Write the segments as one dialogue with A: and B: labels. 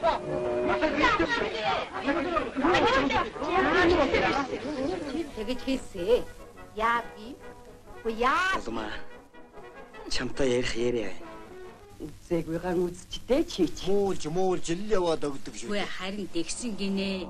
A: Тэгэж хийсэ. Яа би? Яа.
B: Улмаа. Чамтай ярих яриа.
C: Үзээгүй ган үзчтэй чийч.
D: Муулж л яваад өгдөг шүү.
A: Үгүй харин дэгсэн гинэ.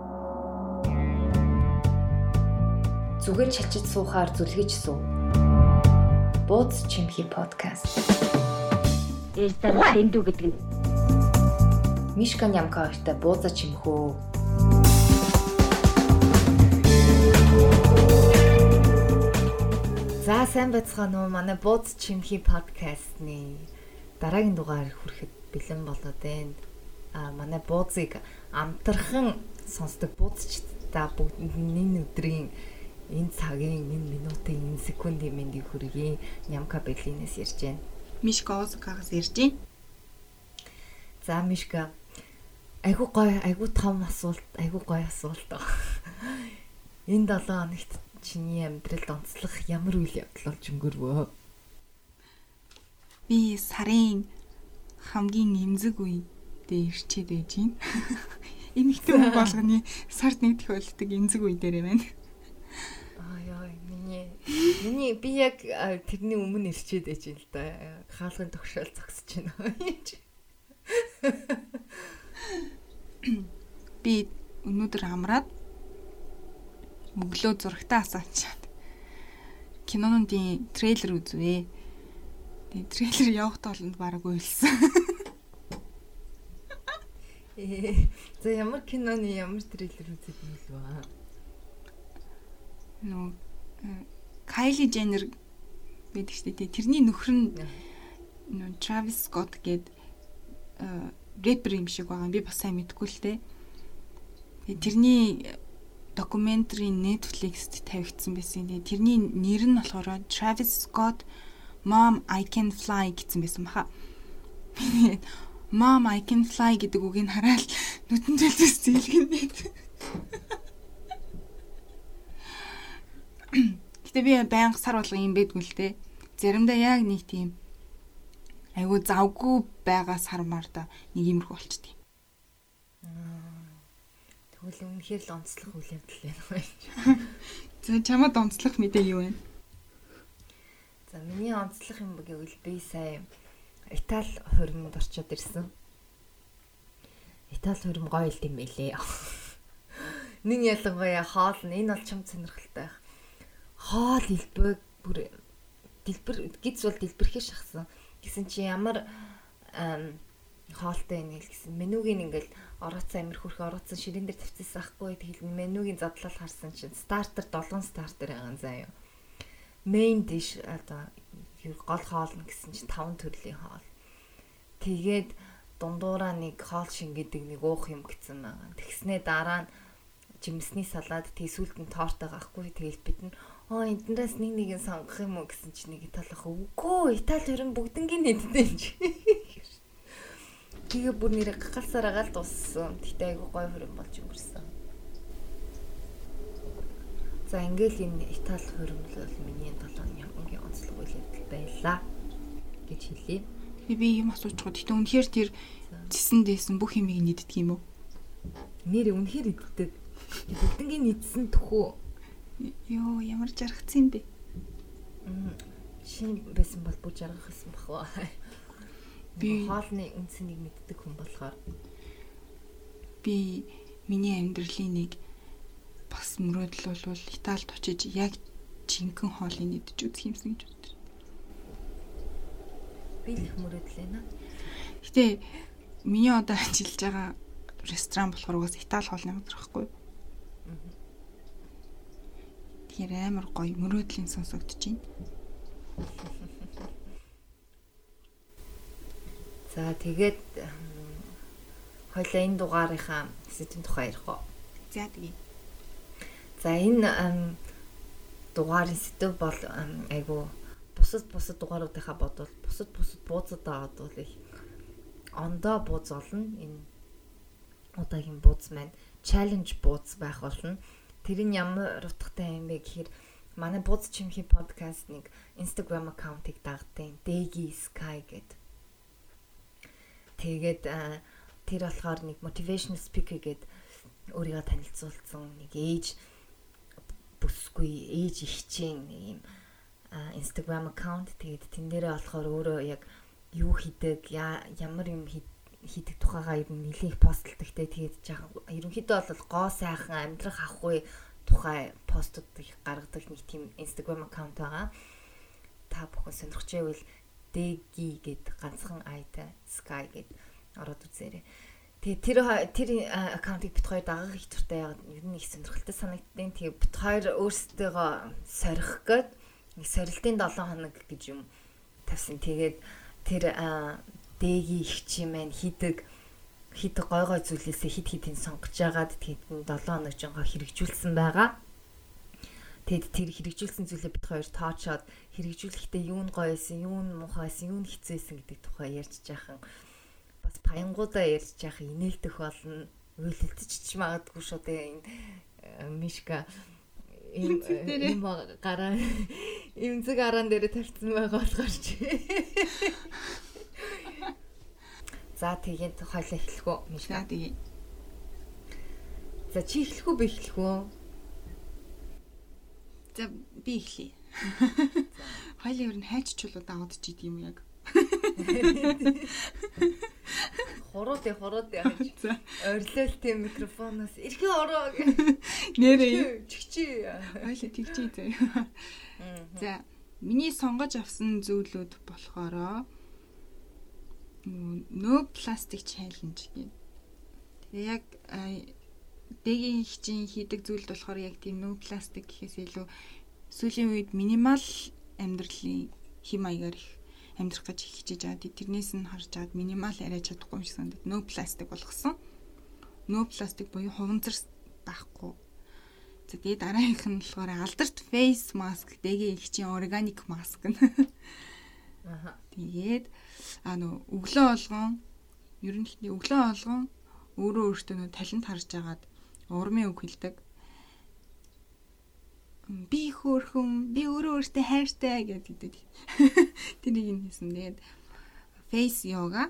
E: Зүгээр чачиж суухаар зүлгэж суу. Бууз чимхи подкаст.
A: Эстэр дэндүү гэдэг нь.
E: Мишка Нямка хоёртой бууза чимхөө. За сайн байцгаана уу манай бууз чимхи подкастны дараагийн дугаар хүрэхэд бэлэн болоод байна. Манай буузыг амтархан сонсдог буузчдаа бүгдний өдрийн энэ цагийн, энэ минутын, энэ секундын мэндийг хүргэе. Нямка Берлинээс ярьж байна.
F: Мишка Осакагаас ярьж байна.
E: За Мишка, айгуу гоё, айгуу том асуулт, айгуу гоё асуулт. Энэ 7 хоногт чиний амьдралд онцлог ямар үйл явдал болж өнгөрвөө?
F: Би сарын хамгийн эмзэг үедээ ирчээд байж байна. Эмэгтэй хүн болгоны сард нэг тохиолддог эмзэг үе дээрээ байна. Миний
E: би яг тэрний өмнө ирчээд байж юм л да. Хаалгын тогшоол зогсож байна.
F: Би өнөөдөр амраад өглөө зурагтаа асаачаад кинонуудын трейлер үзвэ. Тэгээ трейлер явах тоолонд бараг уйлсан.
E: За ямар киноны ямар трейлер үзэх юм бэ?
F: Нөө Кайли Женнер байдаг шүү дээ. Тэрний нөхөр нь нөө Travis Scott гээд рэпер юм шиг байгаа. Би бас сайн мэдэхгүй л дээ. Тэгээ тэрний докюментари Netflix-т тавигдсан байсан. Тэгээ тэрний нэр нь болохоор Travis Scott Mom I Can Fly гэсэн байсан баха. Mom I Can Fly гэдэг үгийг хараад нүдэн зэлзээс зээлгэнээд. Гэтэ би байнга сар болго юм байдгүй л дээ. Заримдаа яг нэг тийм айгу завгүй байгаа сармаар да нэг юмрх болчтой.
E: Тэгвэл үнэхээр л онцлог үйл явдал байна.
F: За чамд онцлог мэдээ юу вэ?
E: За миний онцлог юм гэвэл би сая Итали хурмд орчод ирсэн. Итали хурм гоё л юм байлээ. Нэг ялангуяа хоол нь энэ бол чам сонирхолтой байх. Хоол хэлбэг бүр дэлбэр гиз бол дэлбэрхээ шахсан. Гэсэн чи ямар хоолтой юм гэсэн менюгийн ингээл орооцсон амир хөрхөө орооцсон ширээн дээр тавьчихсан ахгүй тэгэл менюгийн задлал харсан чинь стартер 7 стартер байгаа заа юу. Main dish одоо гол хоол нь гэсэн чинь 5 төрлийн хоол. Тэгээд дундуураа нэг хоол шингээдэг нэг уух юм гэсэн байгаа. Тэгснээ дараа нь жимсний салаад тийсүүлд нь тортой gaахгүй тэгэл бид нь эндээс нэг сонгох юм уу гэсэн чинь нэг Италих үгүй Итали хөрөн бүгднгийн нэдтэй юм чи. Тэгээ бүр нэр гахалсаар агаал дууссан. Тэгтээ айгу гоё хөрөн болж өнгөрсөн. За ингээл энэ Итали хөрөн бол миний 7 хоногийн онцлог үйл явдал байлаа гэж хэлье.
F: Би юм асууж байгаа. Тэгтээ үнэхээр тэр зисэн дээсэн бүх юмыг нийддэг юм уу?
E: Нэр үнэхээр иддэг. Бүгднгийн нийдсэн төхөө.
F: Йоо ямар жаргацсан бэ?
E: Шинэ байсан бол бүр жаргах гэсэн бахва. Би хоолны үнцнийг мэддэг хүн болохоор
F: би миний амьдралын нэг бас мөрөөдөл бол Италид очиж яг жинхэнэ хоолыг нэгдэж үзэх юмсан гэж боддог.
E: Би л их мөрөөдөл байна.
F: Гэтэ миний одоо ажиллаж байгаа ресторан болохоор угаас Итали хоолны газар байхгүй. Тэр амар гоё мөрөөдлийн сонсогдож байна.
E: За тэгээд хоёлаа энэ дугаарынхаа сэдвийн тухай ярих уу?
F: За тэгье.
E: За энэ дугаарын сэдв бол айгу бусад дугааруудынхаа бодвол бусад бууцуудаа бодвол их ондоо бууз олно. Энэ удаагийн бууз маань challenge бууз байх болно. Тэр нь ямар утгатай юм бэ гэхээр манай бууз чимхи подкаст нэг Instagram аккаунтыг дагдаг. Degi Sky гэдэг. Тэгээд тэр болохоор нэг motivational speaker гээд өөрийгөө танилцуулсан нэг ээж бүсгүй ээж ихчийн нэг юм Instagram аккаунт. Тэгээд тэн дээрээ болохоор өөрөө яг юу хийдэг, ямар юм хийдэг тухайгаа ер нь нэлээд постлдаг те. Тэгээд жаахан ерөнхийдөө бол гоо сайхан амьдрах ахгүй тухай постууд их гаргадаг нэг тийм Instagram аккаунт байгаа. Та бүхэн сонирхож байвал Дэги гэд ганцхан айтай Sky гэд ороод үзээрэй. Тэгээ тэр аккаунтыг бит хоёр дагах их туртай яагаад ер нь их сонирхолтой санагдтыг. Тэгээ бит хоёр өөрсдөө сорих гээд нэг сорилтын 7 хоног гэж юм тавьсан. Тэгээд тэр Дэги их чи маань хийдэг гой зүйлээсээ хид сонгож агаад тэгээд 7 хоног жонго хэрэгжүүлсэн байгаа. Тэгэд тэр хэрэгжүүлсэн зүйлээ бит хоёр тоочоод хэрэгжүүлэхдээ юу нь гоё байсан, юу нь муухай байсан, юу нь хэцүү байсан гэдэг тухай ярьж жаахан бас паянгуудаа ярьж жаахан инээлдэх болно. Уйлэлтэж магадгүй шүү дээ энэ Мишка ийм гараа имзэг араан дээр тавьсан байгаа болохоор чи. За тэгээд хойлоо эхлэх үү Мишка? Тэгээ. За чи эхлэх үү би эхлэх үү?
F: За би эхлэе. Хоёлын ер нь хайччлууд аваад ч идэм юм яг.
E: Хороод яаж. Ойрлол тийм микрофоноос эрхээ ороо.
F: Нэрээ.
E: Чигчи.
F: Хоёлаа тэгчээ заяа. За миний сонгож авсан зүйлүүд болохоро no plastic challenge гэх. Тэгээ яг Дэгийн хичээн хийдэг зүйлд болохоор яг тийм no plastic гэхээс илүү сүүлийн үед минимал амьдралын хэм маягаар их амьдрах гэж хичээж байгаа. Тэрнээс нь харж чад минимал арай чадахгүй юм шиг санагдав. No plastic болгосон. No plastic буюу хуванцар байхгүй. За тэгээ дараагийнх нь болохоор алдарт face mask Дэгийн хичээн organic mask нь. Аха. Тэгээд өглөө болгон ерөнхийдөө өглөө болгон өөрөө өөртөө талент харж агаад урмын үг хэлдэг. Би хөөрхөн, би өөрөө өөртөө хайртай гэдэг. Тэнийг юм хийсэн. Тэгээд face yoga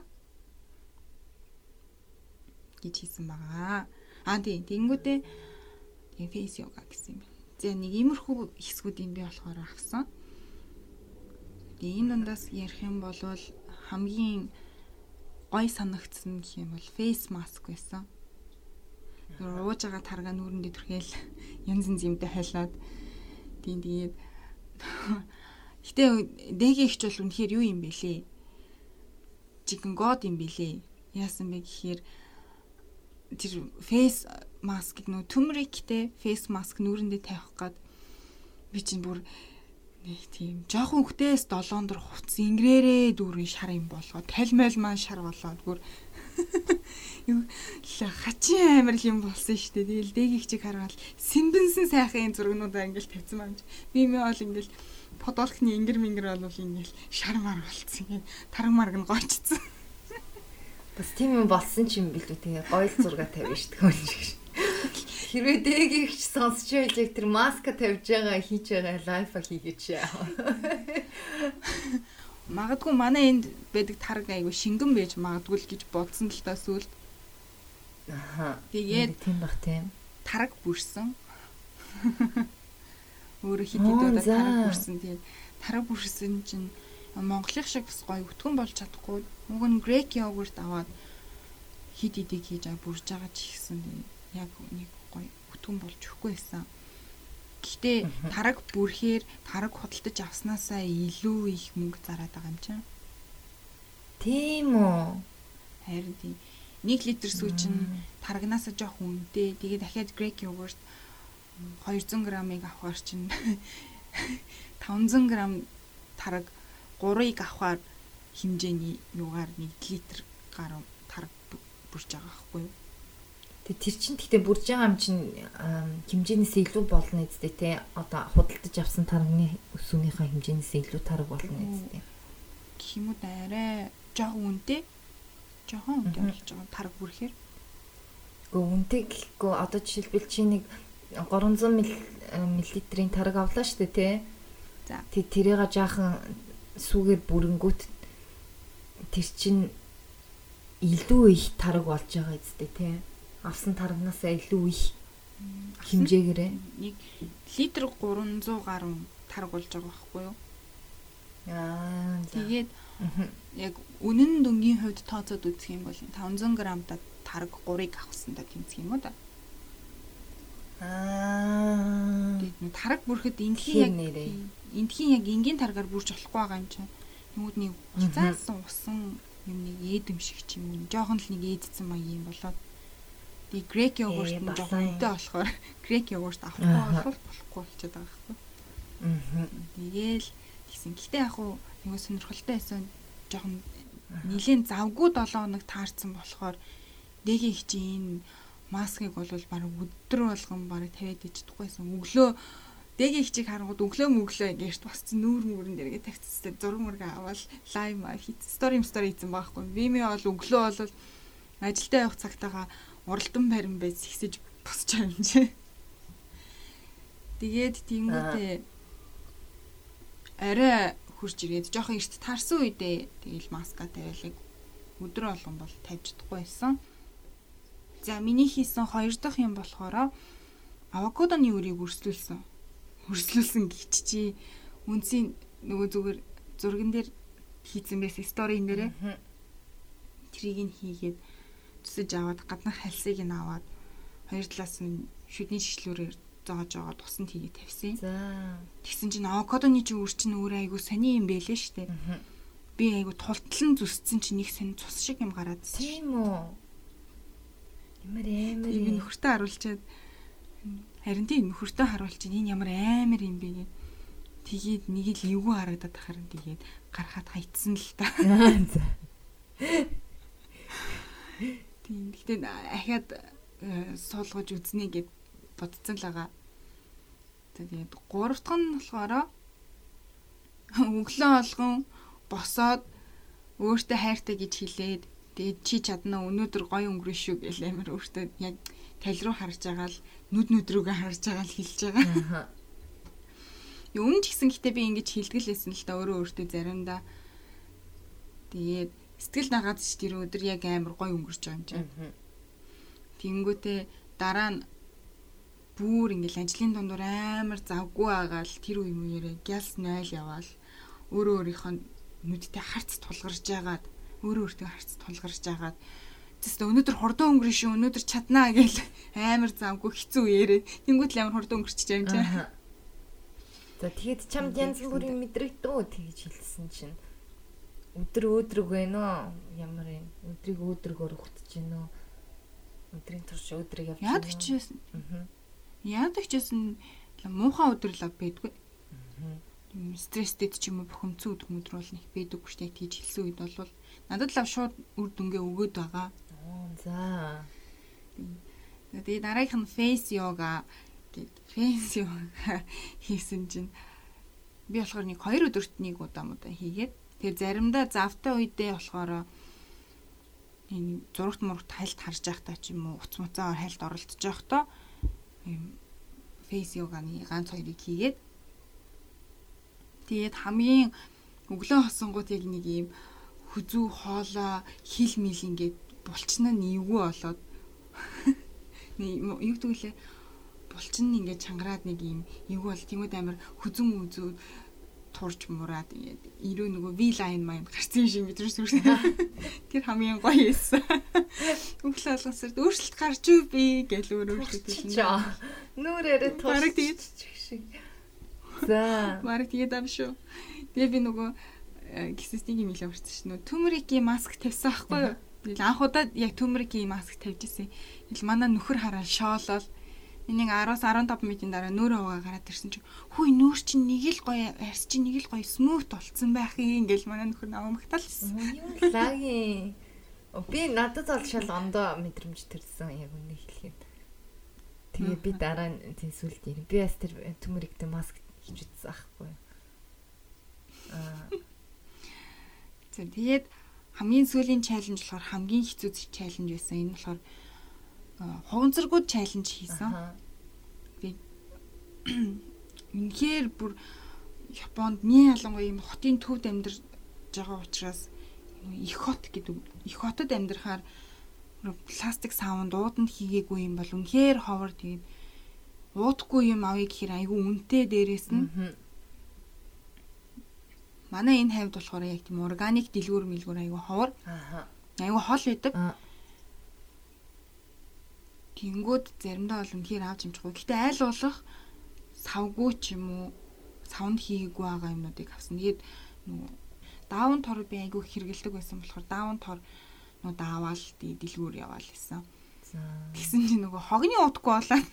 F: гэж хийсэн байгаа. Тэнгүүтээ face yoga гэсэн юм байна. За нэг иймэрхүү хэсгүүд юм би болохоор авсан. Тэгээ энэ дундаас ярих юм бол хамгийн гой санагдсан гэх юм бол face mask байсан. Ууж байгаа таргаа нүрэндээ түрхэл янз юмтай хайлаад тэгээд гэтээ Дэгийн ихч бол үнэхээр юу юм бэлээ? Chicken god юм бэлээ. Яасан бэ гэхээр тэр face mask-ыг нөө төмриктэй face mask нүрэндээ тавих гээд би чинь бүр нэг тийм жоохон хөвгтээс 7 дор хувц ингэрээрээ дүүрэн шар юм болгоод талмайл маань шар болоод бүр юу хачин амир юм болсон шүү дээ. Тэгэл Дэгийн хчиг хараад сэмбэнсэн сайхан зургнуудаа ингээл тавьсан байна. Би мэ бол ингээл подолкны ингэр бол ингээл шар мар болцсон. Ингээд таран марг нь гойчсон.
E: Бас тийм юм болсон ч юм билүү тэгээ гоёл зураг тавьж шүү дээ. Хэрвээ Дэгийн хч сонсч байж яг тэр маска тавьж байгаа хийж байгаа лайфа хийгээч.
F: Магадгүй манай энд байдаг тараг айгу шингэн байж магадгүй л гэж бодсон л та сүлд.
E: Аха.
F: Тэгээд
E: тийм бах тийм.
F: Тараг бүрсэн. Өөрөө хитэдээ тараг бүрсэн. Тэгээд тараг бүрсэн чинь Монголын шиг бас гоё өтгөн болж чадахгүй. Уг нь грек йогурт аваад хит идэг хийж бүрж байгаа ч ихсэн. Яг нэг гоё өтгөн болж өгөхгүй байсан. Гэхдээ тараг бүрхээр тараг худалдаж авснаасаа илүү их мөнгө зараад байгаа юм чинь.
E: Тийм үү?
F: Харин тийм. 1 литр сүү чинь тарагнасаа жоох үнэтэй. Тэгээ дахиад грек йогурт 200 грамыг авахар чинь 500 грамм тараг 3-ыг авахар хэмжээний юугаар 1 литр гаруй тараг бүрж байгаа байхгүй юу?
E: Тэр чинь гэхдээ бүрж байгаа юм чинь хэмжээнээс илүү болно үстэй те. Одоо худалдаж авсан тарганы өсвөнийхээ хэмжээнээс илүү тараг болно үстэй.
F: Гэмүүд арай жоохон үнэтэй. Жоохон үнэтэй болж байгаа тараг бүрхээр.
E: Гэхдээ үнэтэй гэхгүй одоо жишээлбэл чи нэг 300 мл-ийн тараг авлаа шүү дээ те.
F: За.
E: Тэрийг жаахан сүүгээр бүрэнгүүт тэр чинь илүү их тараг болж байгаа үстэй тий. Авсан тарагнасаа илүү их хэмжээгээрээ
F: нэг литр 300 гаруй тараг болж байгаа байхгүй юу? Тэгээд яг үнэн дүнгийн хувьд тооцоод үзэх юм бол 500 грамтай тараг 3-ыг авахсандаа тэмцэх юм уу да? Тэгээд тараг бүрхэд эндхийн яг энгийн таргаар бүрж болохгүй байгаа юм чинь. Нүуд нэг уцаасан усан юм нэг ээдэм шиг ч юм уу. Жохон л нэг ээдсэн маяг юм болоод. Тэгээд грек йогурт нь жохон үнэтэй болохоор грек йогурт авахгүй болохгүй болчиход байгаа байхгүй. Тэгээл тэгсэн. Гэтэ яг хуу нэг сонирхолтой байсан жохон нилийн завгүй 7 хоног таарсан болохоор дэгийн хичээн маскыг бол баг өдөр болгон баг тавиад ичдэггүйсэн. Өглөө дэгийн хичээг харангууд өглөө гэрт босцсон нүүр мөрөн дээргээ тавьчихсан. Зураг мөргө аваад лайв стори хийсэн байхгүй. Вими бол өглөө бол ажилдаа явах цагтаага уралдан барин байж ихсэж босч байгаа юм чи. Тэгээд тиймүүдээ арай хурж ирээд жоохон эрт таарсан үедээ тэгэл маска тавиалыг өдөр болгон бол тавьж чадахгүй байсан. За миний хийсэн 2 дахь юм болохоор авокадоны үрийг өрслүүлсэн гिचчи үнсийн нөгөө зүгээр зурган дээр хийсэн байсан сторийн дээрээ трийг нь хийгээд зүсэж аваад гаднах хальсыг нь аваад хоёр талаас нь шүдний шишлүүрээр зоож аваад тусанд хийгээд тавьсан.
E: За
F: тэгсэн чинь авокадоны үр чинь өөрөө айгу сони юм байлээ штэ. Би айгу тултлан зүссэн чинь нэг сони цус шиг юм гараад ирсэн.
E: тийм үү. Ямар амар
F: юм нөхөртөө харуулчаад харин тийм нөхөртөө харуулчих энэ ямар амар юм бэ гэд. Тэгээд нэг л эвгүй харагдаад харин тэгээд гарахад хайцсан л та. Тийм гэхдээ ахаад суулгаж үзнэ гэд бодцсон л байгаа. Тэгээд 3 дахь нь болохоор өглөө олгон босоод өөртөө хайртай гэж хэлээд тэгээд чи чадна өнөөдөр гоё өнгөрөн шүү гэл амар өөртөө яг тал руу харж байгаа л нүд рүүгээ харж байгаа л хэлж байгаа. Өмнө ч гэсэн гэтээ би ингэж хэлгэлээсэн л та өөртөө заримдаа. Тэгээд сэтгэл нагаад ч тэр өдөр яг амар гоё өнгөрч байгаа юм чинь. Тэнгүүтээ дараа нь бүр ингээл ажлын дундуур амар завгүй байгаа л тэр үе мөрөө гялс 0 яваал өөрийнхөө нүдтэй харц тулгарж байгаад өөртөө харц тулгарж байгаад зөв өнөөдөр хурдан өнгөрөн шүү өнөөдөр чаднаа гэл амар завгүй хэцүү үеэрээ тэнгуут л амар хурдан өнгөрч байгаа юм чинь.
E: За тэгэд чамд янз бүрийн мэдрэгдөө тэгж хэлсэн чинь өдөр байна уу? Ямар юм? Өдрийг өдрөгөр ухтж байна уу? Өдрийн турш өдрийг явж байна. Яадаг ч гэсэн муухай өдөр л байдгүй. Стресстэй ч юм уу бухимдсан өдөр бол нэг байдаггүй штэ тийж хэлсэн үед бол надад л шууд үр дүнгээ өгөөд байгаа. За.
F: Тэгээд дараагийнх нь фейс йога хийсэн чинь би болохоор нэг 2 өдөрт нэг удаа хийгээд тэгээд заримдаа завтай үедээ болохоор энэ зурагт мурагт хайлт харж байхдаа ч юм уу уц муцаар хайлт оролдож байхдаа ийм фейс йоганы ганц 2-ыг хийгээд тэгээд хамгийн өглөө хосонгууд яг нэг ийм хүзүү хоолоо хил мил ингээд булчнаа нэвгүй болоод юу гэдгэлээ булчин ингээд чангараад нэг ийм эвгүй бол тиймүүд амар хүзүн үзүү турж мураад ингээд ирөө нөгөө V line mind гарсан юм шиг мэдрээс үрсэн. Тэр хамгийн гоё эссэн. Өглөө алгасаар өөрчлөлт гарч юу бэ гэж өөрөө хэлсэн.
E: Нүрээрээ
F: турж тэгээд
E: шиг. За.
F: Марк тэгээд ам шүү. Тэгээ би нөгөө гисэстийн юм хэлээ марцсан шүү. Төмрикийн маск тавьсан байхгүй юу? Тэгэл анх удаа яг төмрикийн маск тавьж ирсэн. Тэгэл манай нөхөр хараад шоолол. Энийг 10-15 минутын дараа нүүрээ угаа гараад ирсэн чинь хүй нүүр чинь нэг л гоё арс чинь нэг л гоё смут болцсон байх юм ингээл манай нөхөр намагтаалсэн.
E: Юу лаги. Би надад бол шал ондоо мэдрэмж төрсөн яг үнэ хэлэхэд. Тэгээ би дараа нь сүлд ирээ. Би бас тэр төмөрөгтэй маск хийж үзсэн аахгүй.
F: Тэгээд хамгийн сүүлийн чаленж болохоор хамгийн хэцүү чаленж байсан. Энэ болохоор хуванцаргууд чаленж хийсэн. Тэгээд үнэхээр бүр Японд ялангуяа ийм хотын төвд амьдарч байгаа учраас их хот гэдэг. Их хотод амьдрахаар пластик саунд ууданд хийгээгүй юм бол үнэхээр ховор тэгээд уудахгүй юм авъя гэхээр айгүй үнэтэй дээрээс нь. Манай энэ хавьд болохоор яг тийм органик дэлгүүр мэлгүүр айгүй ховор. Айгүй хол байдаг. Тэнгүүд заримдаа бол үнэхээр авч амжихгүй. Гэхдээ айл болох савгүй ч юм уу саунд хийгээгүй байгаа юмнуудыг авсан. Тэгээд нөгөө даун тор би айгүй хэрэгэлдэг байсан болохоор даун тор нуу даавал дэлгүүр яваал гэсэн. Тэгсэн чинь нөгөө хогны удахгүй болоод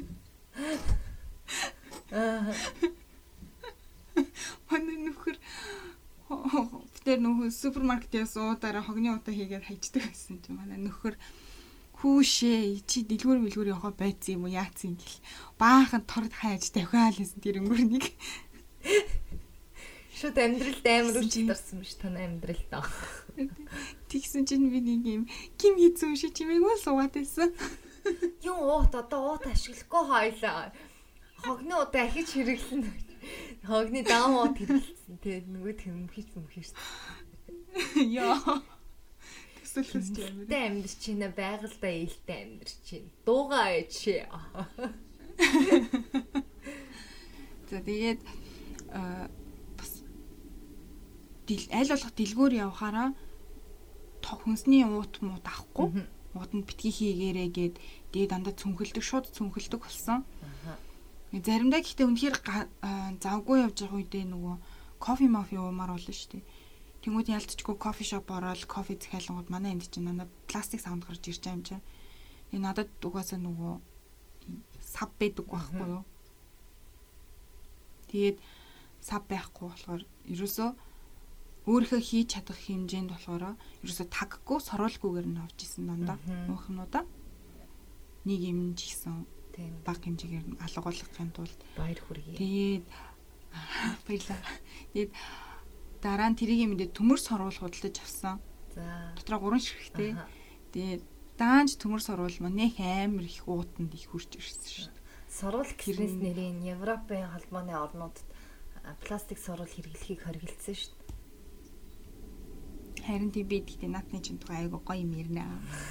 F: манай нөхөр тэр нөгөө супермаркетээс уудаараа хогны удаа хийгээд хайчдаг байсан чинь манай нөхөр хүүшээ чи дэлгүүр мэлгүүр яваа байцсан юм уу яатсан гэл баахан торд хайж давхаал гэсэн тэр өнгөрнийг
E: шууд амьдралд амар үчилдэрсэн биш тань амьдралд.
F: Тэгсэн чинь би нэг юм ким хийцэн шиг чимээгүй суугаад байсан.
E: Юу уут одоо уут ашиглахгүй хойлоо. Хогны удаа ахиж хэрэглэнэ. Хогны даун уут хэрэглэсэн. Тэгээд нөгөө тэм хийсэн. Яа. Тэсэлхэс чи амар. Тэ амьд чинь байгальдаа ээлтэй амьд чинь. Дуугаа ээч.
F: За тэгээд аль болох дэлгүүр явахаараа хүнсний уут муу авахгүй. Ууданд битгий хийгээрээ гээд дээд дандаа цүнхэлдэг, шууд цүнхэлдэг болсон. Заримдаа гэхдээ үнэхээр завгүй явж байгаа үедээ нөгөө кофе мафи уумаар болно шүү дээ. Тэнгүүд ялцчгүй кофе шоп ороод кофе захиалгууд манай энд чинь надад пластик саунд гарч ирж байгаа юм чинь. Тэгээ надад угаасаа нөгөө сав байдаг байхгүй юу? Тэгээд сав байхгүй болохоор ерөөсөө өөрийнхөө хийж чадах хэмжээнд болохоор ерөөсөө таггүй сорволгүйгээр нь авч исэн дандаа уухнуудаа. Нэг юм ч ихсэн тийм баг хэмжээгээр алгуулахын тулд
E: баяр хүргэе.
F: Тэгээд баярлаа. Тэгээд дараа нь тэрийг мэдээ төмөр сорвол худалдаж авсан. За. Дотроо 3 ширхтэй. Тэгээд даанч төмөр сорвол манайх амар их уутанд их хүрч ирсэн шүү дээ.
E: Сорвол гэснээс нэрийн Европын холбооны орнуудад пластик сорвол хэрэглэхийг хориглосон шүү дээ.
F: Харин тийм би гэхдээ наатны чинь тухай айгу гоё юм ярина.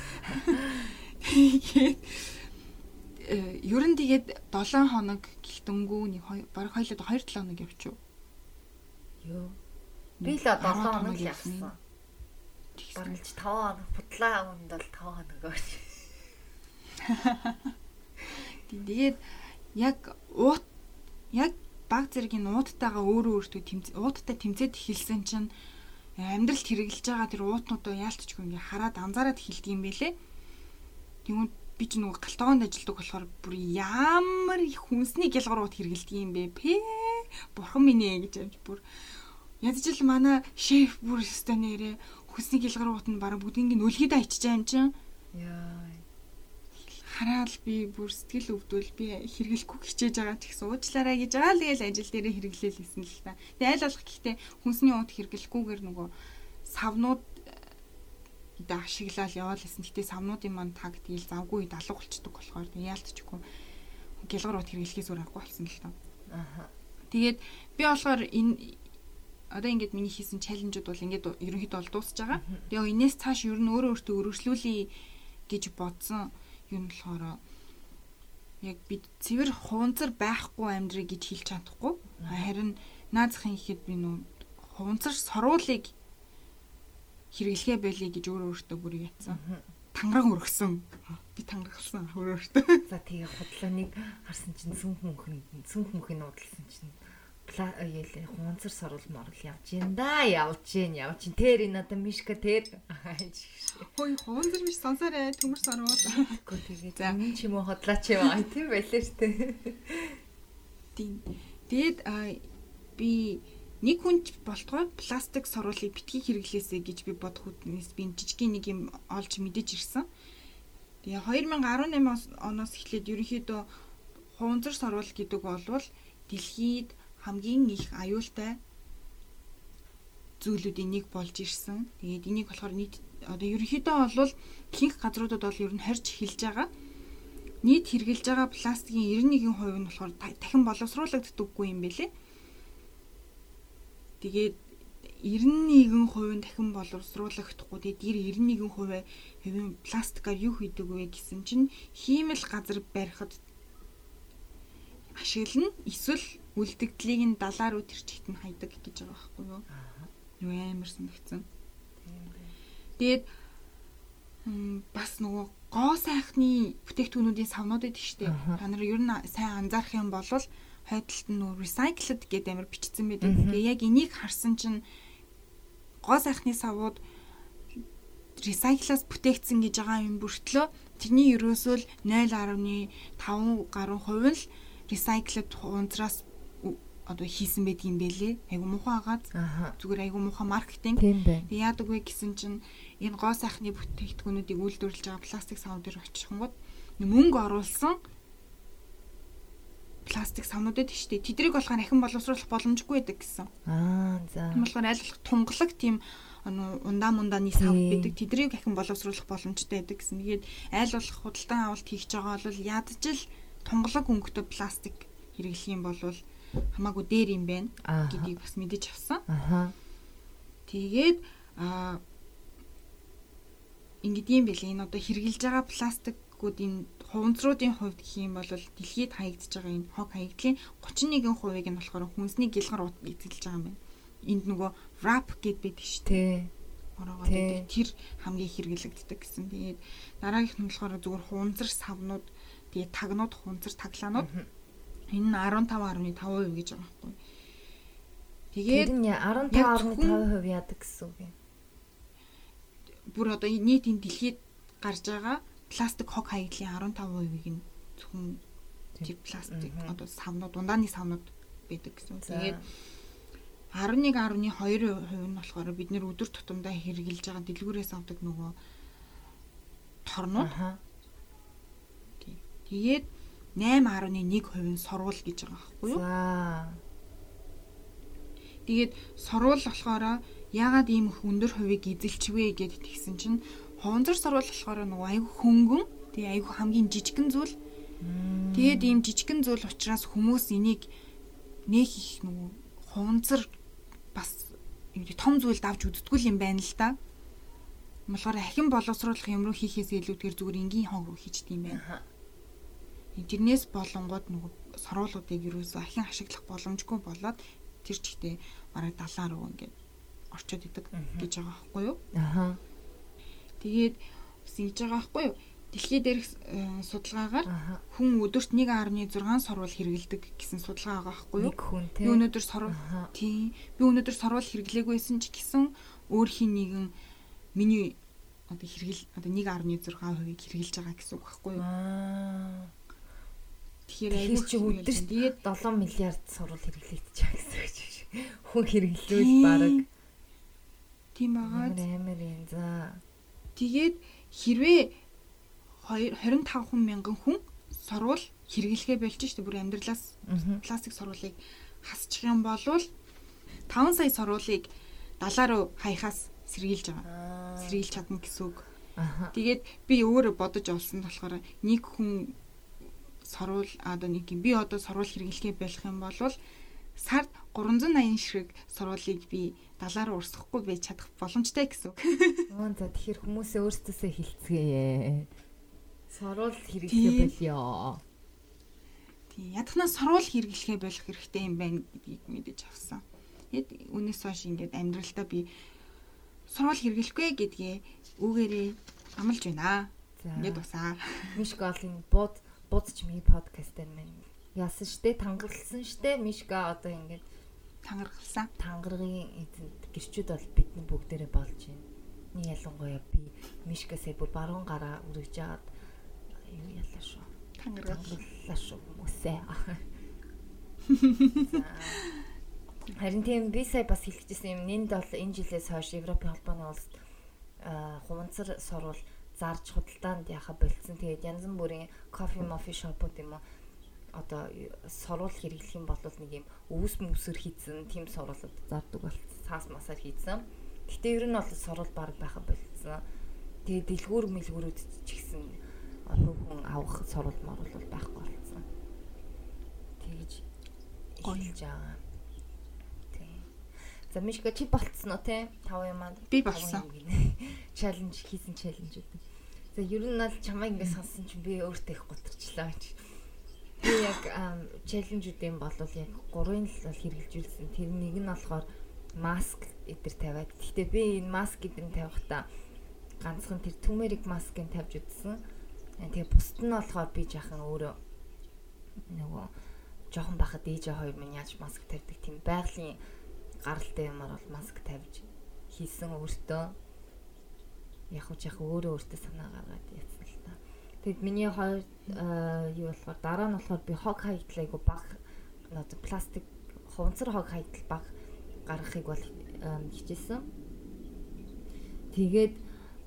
F: Ер нь тэгээд 7 хоног гэлтэнгүү нэг бараг хоёлоо 2-7 хоног явчих.
E: Йоо. Би л 7 хоног явсан. Бараг 5 хоног бутлаа өнд бол 5 хоног өгч.
F: Тэгээд яг баг зэргийн уудтайгаа өөртөө уудтай тэмцээд эхэлсэн чинь амьдралд хэрэгжилж байгаа тэр уутнуудаа яалтчгүй ингээ хараад анзаараад эхэлдэг юм байлээ. Тэгвэл би ч нөгөө галтгоонд ажилладаг болохоор бүр ямар их хүнсний гялгарууд хэрэгжилдэг юм бэ? Бурхан минь ээ гэж амж бүр ядчил манай шеф бүр өстой нэрээ хүнсний гялгарууд нь бараг бүгдийг нөлгийдээ ичиж байгаа юм чинь.
E: Яа.
F: Хараад би бүр сэтгэл өвдвөл би хэрэглэхгүй хичээж байгаа ч гэсэн уучлаарай гэж байгаа л тэгэл ажил дээрээ хэрэглээл хэлсэн л та. Тэгээ айл болох гэхдээ хүнсний ууд хэрэглэхгүйгээр нөгөө савнууд ашиглаад яваал гэсэн. Гэтэ савнуудын манд таг тэгэл завгүй үед алга болчдөг болохоор тэг яалтчихгүй гялгар ууд хэрэглэхээс өөр аргагүй болсон л та.
E: Аха.
F: Тэгээд би болохоор энэ одоо ингээд миний хийсэн чаленжууд бол ингээд ерөнхийдөө бол дуусж байгаа. Тэгээ энэс цааш ер нь өөрөө өөртөө өргөжлүүлье гэж бодсон. Юм болохоор яг би цэвэр хуунцар байхгүй амьдрыг гэж хэлж чадахгүй. Харин наазахын ихэд би нүү хуунцар сорвуулыг хэрэглэхэ байлээ гэж өөртөө бүр ятсан. Тангараг өргөсөн. Би тангарахсан өөртөө.
E: За тэгээ худлааныг харсан чинь сүнх мөнхийн нуудлсан чинь хуунцар сорвол морол явж ин да явж ин тэр энэ одоо мишка тэр
F: хой хуунцар биш сонсоорой төмөр сорвол
E: гэхдээ тэгээ энэ ч юм уу хотлаач яваа тийм байлээ шүү дээ.
F: Тэгээд би нэг хүн болтгой пластик сорволыг битгий хэрэглээсэй гэж би бодох үднээс би жижигхэн нэг юм олж мэдэж ирсэн. Тэгээ 2018 оноос эхлээд ерөнхийдөө хуунцар сорвол гэдэг болвол дэлхийд хамгийн их аюултай зүйлүүдийн нэг болж ирсэн. Тэгээд энийг болохоор нийт одоо ерөнхийдөө бол ихэнх газруудад бол ер нь хорж эхэлж байгаа. Нийт хэрглэж байгаа пластикийн 91% нь болохоор дахин боловсруулагддаггүй юм бэлээ. Тэгээд 91% дахин боловсруулагдахгүй. Тэгээд 91% пластикаар юу хийдэг вэ гэсэн чинь хиймэл газар барихад ашиглана. Эсвэл үлдэгдлийг нь далаар үтэр чигт нь хайдаг гэж байгаа байхгүй юу? Юу амар санагдсан. Тэгээд бас нөгөө гоо сайхны бүтээгдэхүүнүүдийн савнууд байдаг шүү дээ. Та нар ер нь сайн анзаарах юм бол хойдолт нь нөгөө recycled гэдэг амар бичсэн байдаг. Тэгээ яг энийг харсан чинь гоо сайхны савууд recycle-аас бүтээгдсэн гэж байгаа юм бүртлөө тэрний ерөөсөө л 0.5 гаруй хувь л recycled унтраас одоо хийсэн байдгийн бэлээ. Айгу муухай агаад зүгээр айгу муухай маркетинг. Тэгээ яадаг вэ гэсэн чинь энэ гоо сайхны бүтээгдэхүүнүүдийг үйлдвэрлэж байгаа пластик савууд дээр очихгонгод мөнгө оруулсан пластик савнууд байдаг шүү дээ. Тэдрийг болохоор ахин боловсруулах боломжгүй байдаг гэсэн. За. Тийм болохоор аль болох тунгалаг тийм ундааны сав байдаг. Тэдрийг ахин боловсруулах боломжтой байдаг гэсэн. Тэгээд аль болох худалдан авалт хийж байгаа бол ядаж л тунгалаг өнгөтэй пластик хэрэглэх юм бол хамаагүй дээр юм байна гэдгийг бас мэдэж авсан. Тэгээд ингэдэг юм бэлээ. Энэ одоо хэрэглэж байгаа пластикуудын хуванцруудын хувьд гэх юм бол дэлхийд хаягдж байгаа энэ хог хаягдлын 31%-ийг нь болохоор хүнсний гэлгар эзэлж байгаа юм байна. Энд нөгөө wrap гэд байдаг шүү дээ. Ороогоо тэр хамгийн хэрэглэгддэг гэсэн. Тэгээд дараагийнх нь болохоор зүгээр хуванцар савнууд, тэгээд тагнууд, хуванцар таглаанууд. Энэ нь 15.5% гэж байгаа байхгүй. Тэгээд
E: энэ 15.5% яадаг гэсэн үг юм.
F: Бүр одоо нийтийн дэлхийд гарч байгаа пластик хог хаягдлын 15%-ийг нь зөвхөн тэр пластик одоо савнууд, ундааны савнууд байдаг гэсэн. Тэгээд 11.2% нь болохоор бид нэр өдөр тутамдаа хэрэглэж байгаа дэлгүүрээс авдаг нөгөө торнууд. Тэгээд 8.1% нь сурвал гэж байгаа байхгүй юу? Тэгээд сурвал болохоор яагаад ийм их өндөр хувийг эзэлчихвэ гэд тэгсэн чинь хуванцар сурвал болохоор нөгөө айгүй хөнгөн, тэгээ айгүй хамгийн жижигхэн зүйл. Тэгээд ийм жижигхэн зүйл учраас хүмүүс энийг нэг их нөгөө хуванцар бас том зүйлд авч үздэггүй юм байна л да. Болохоор ахин боловсруулах юм руу хийхээс илүүтэйгээр зүгээр энгийн хог руу хийчихдээ юм байна. Тэрнээс болонгууд нөгөө сорвуулуудыг юусоо ахин ашиглах боломжгүй болоод тэр чигтээ бараг 70 руу ингээд орчод идэг гэж байгаа байхгүй юу? Тэгээд бас ингэж байгаа байхгүй юу? Дэлхий дээрх судалгаагаар хүн өдөрт 1.6 сорвол хэрэгэлдэг гэсэн судалгаа байгаа байхгүй юу? Би өнөөдөр сорвол хэрэглээгүйсэн ч гэсэн өөрхийн нэгэн миний одоо 1.6% хэрэглэж байгаа гэсэн үг байхгүй юу?
E: Тэгэхээр чи өдөрт тэгээд 7 миллиард сурвал хэрэглэгдэж байгаа гэсэн үг шиг. Хүн хэрэглүүл бараг
F: тийм байгаа.
E: Амар юм за.
F: Тэгээд хэрвээ 25 мянган хүн сурвал хэрэглэхээ болж штэ бүр амьдралаас пластик сурвалыг хасчих юм бол 5 сая сурвалыг 70 руу хаяхаас сэргийлж байгаа. Сэргийлж чадна гэсэн үг. Тэгээд би өөрөө бодож олсон болохоор нэг хүн сурвал одоо нэг юм би одоо сурвал хэрэглэхээ болох юм бол сард 380 ширхэг сурвалыг би 70 руу урсгахгүй байж чадах боломжтой гэсэн үг.
E: За тэгэхээр хүмүүсээ өөрсдөөсөө хилцгээе. Сурвал хэрэглэхээ болёо.
F: Тийм ядахнаа сурвал хэрэглэхээ болох хэрэгтэй юм байна гэдгийг мэдэж авсан. Тэгэд үнээс хойш ингээд амьдралдаа би сурвал хэрэглэхгүй гэдгээ үгээрээ амлаж байна. Ингээд босаа.
E: Мишгалын будч ми подкаст дээр мэн яасан штэ тангаралсан штэ Мишка одоо ингээд тангаргийн эзэнт гэрчүүд бол бидний бүгдээрээ болж байна. Нэг ялангуяа би Мишкасээ бүр баруун гараа үргэж жаад юу ялаа шүү. Тангараллаа шүү хүмүүсээ. Харин тийм би сая бас хэлчихсэн юм. Нэнд бол энэ жилээс хойш Европын холбооны улсад хуванцар сурвал зарж худалдаанд яхаа болцсон. Тэгээд янз бүрийн кофе шопууд юм уу одоо сурвал хэрэглэх юм бол нэг юм өвс мөсөр хийцэн тийм сурвалууд зардаг болцсон. Цаас масаар хийцэн. Гэтэ ер нь бол сурвал баг байхаа болцсон. Тэгээд дэлгүүрүүд ч гэсэн хүн авах сурвал морвол бол байхгүй болцсон. Тэгж хэлж байгаа. Тийм. За Мишка чи болцсон уу те? 5 юм аа.
F: Би болсон.
E: Challenge хийсэн challenge үү. За ер нь бол чамайг ингэ сонссон чинь би өөртөө их готарчлаа гэж. Би яг challenge-уудын бол яг 3-ын л бол хэрэгжүүлсэн. Тэр нэг нь болохоор маск эдэр тавиад. Гэхдээ би энэ маск эдэр тавихтаа ганцхан тэр turmeric маскыг тавьж үзсэн. Тэгээ бусд нь болохоор би жаахан өөрөө нөгөө жоохон бахад ээжээ хоёр минь яаж маск тавьдаг тийм байгалийн гаралтай юмар бол маск тавьж хийсэн өөртөө. Яг өөрөө санаа гаргаад яцсан л та. Тэгэд миний хоёр юу болохоор дараа нь болохоор би хог хаягдлаа айгу баг одоо пластик хуванцар хог хаягдл баг гаргахыг бол хичээсэн. Тэгээд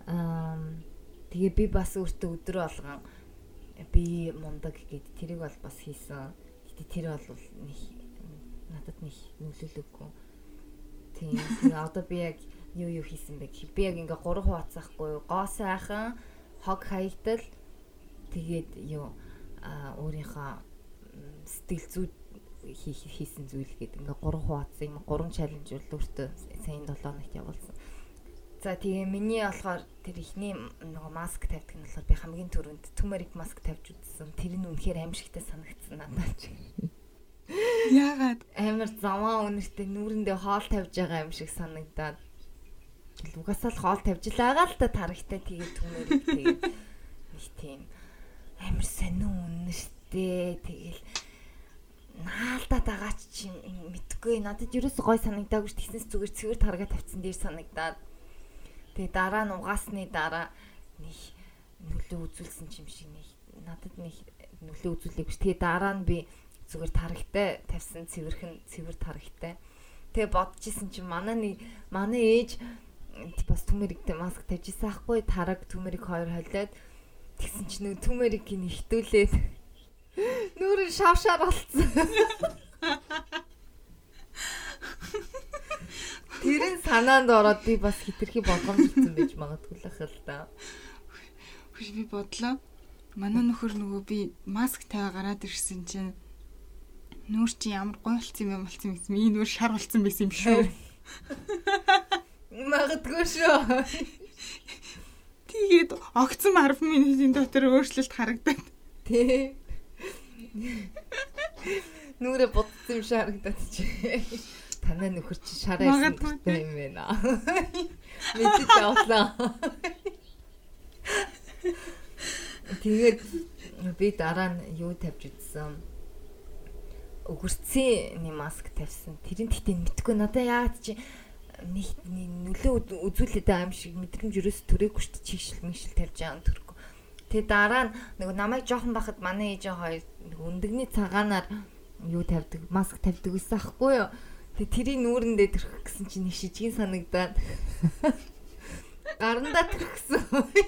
E: би бас өөртөө өдөр болгон би мундаг гэд тэрийг бол бас хийсэн. Гэтэ тэр бол надад нэг нөлөөлөггүй. Тийм. Тэгээ одоо би яг юу хийсэн бэ гэхээр би яг ингээ 3 хуваацахгүй гоо сайхан хог хаягдал тэгээд өөрийнхөө сэтгэл зүйд хийсэн зүйл гэдэг ингээ 3 хуваацсан юм 3 чаленж бол өөртөө сайн 7 хоногт явуулсан. За тэгээ миний болохоор тэр ихний нөгөө маск тавьдаг нь болохоор би хамгийн түрүүнд turmeric маск тавьж үзсэн. Тэр нь үнэхээр аимшигтай санагдсан надад.
F: Яагаад
E: амар заваа өнөртэй нүүрэндээ хоол тавьж байгаа юм шиг санагдаад. Угаасаа л хоол тавьж байгаа л та тарихтай тэгээ turmeric тэгээ нэг тийм амар сонин үнэртэй тэгэл наалдаад байгаа ч юм мэдгүй надад ерөөсөө гой санагдаагүй ш тийснээс зүгээр цэвэр таргаа тавьсан дээр санагдаад тэгээ дараа нь угаасны дараа нэг нөлөө үзүүлсэн юм шиг нэг надад нэг нөлөө үзүүлээгүй ш тэгээ дараа нь би зүгээр тарагтай тавьсан цэвэр тарагтай тэгээ бодчихсон чинь манай ээж бас turmericтэй маск тавьжсэн ахгүй тараг turmeric 2 холиод тэгсэн чинь нэг turmeric-ийг нэхтүүлээд нүрэн шавшаар болцсон. Тэрэн санаанд ороод би бас хитрхи болгоомжлсон байж магадгүй л ах л да.
F: Хүч би бодлоо. Манай нөхөр нөгөө би маск тавиа гараад ирсэн чинь нүүр чи ямар гоё болсон юм гэсэн миний нүүр шар болсон байсан юм шүү.
E: Магадгүй шүү.
F: Тэгээд огцом 10 минутын дотор өөрчлөлт харагдаад.
E: Тэ. Нүрэ бодсон юм шиг харагдаад чи. Танай нөхөр чи шараа хийсэн юм байна. Мэдээж авлаа. Тэгээд би дараа нь юу тавьж үзсэн. Өгөрцийн маск тавьсан. Тэрэн тэгтээ мэдгүй надаа яагаад чи нэг нөлөө үзүүлээд байгаа юм шиг мэдрэмж ерөөс төрөөгүй шүү дээ. Чигшил мэгшил тавьж байгаа төрөхгүй. Тэгээ дараа нь нөгөө намайг жоохон бахад манай ээжээ хоёр нэг өндөгний цагаанаар юу тавьдаг, маск тавьдаг байсан ахгүй юу. Тэгээ тэрийн нүүрэндээ төрөх гэсэн чинь нэг шижгийн санагдаад гарандаа төрөхсөн.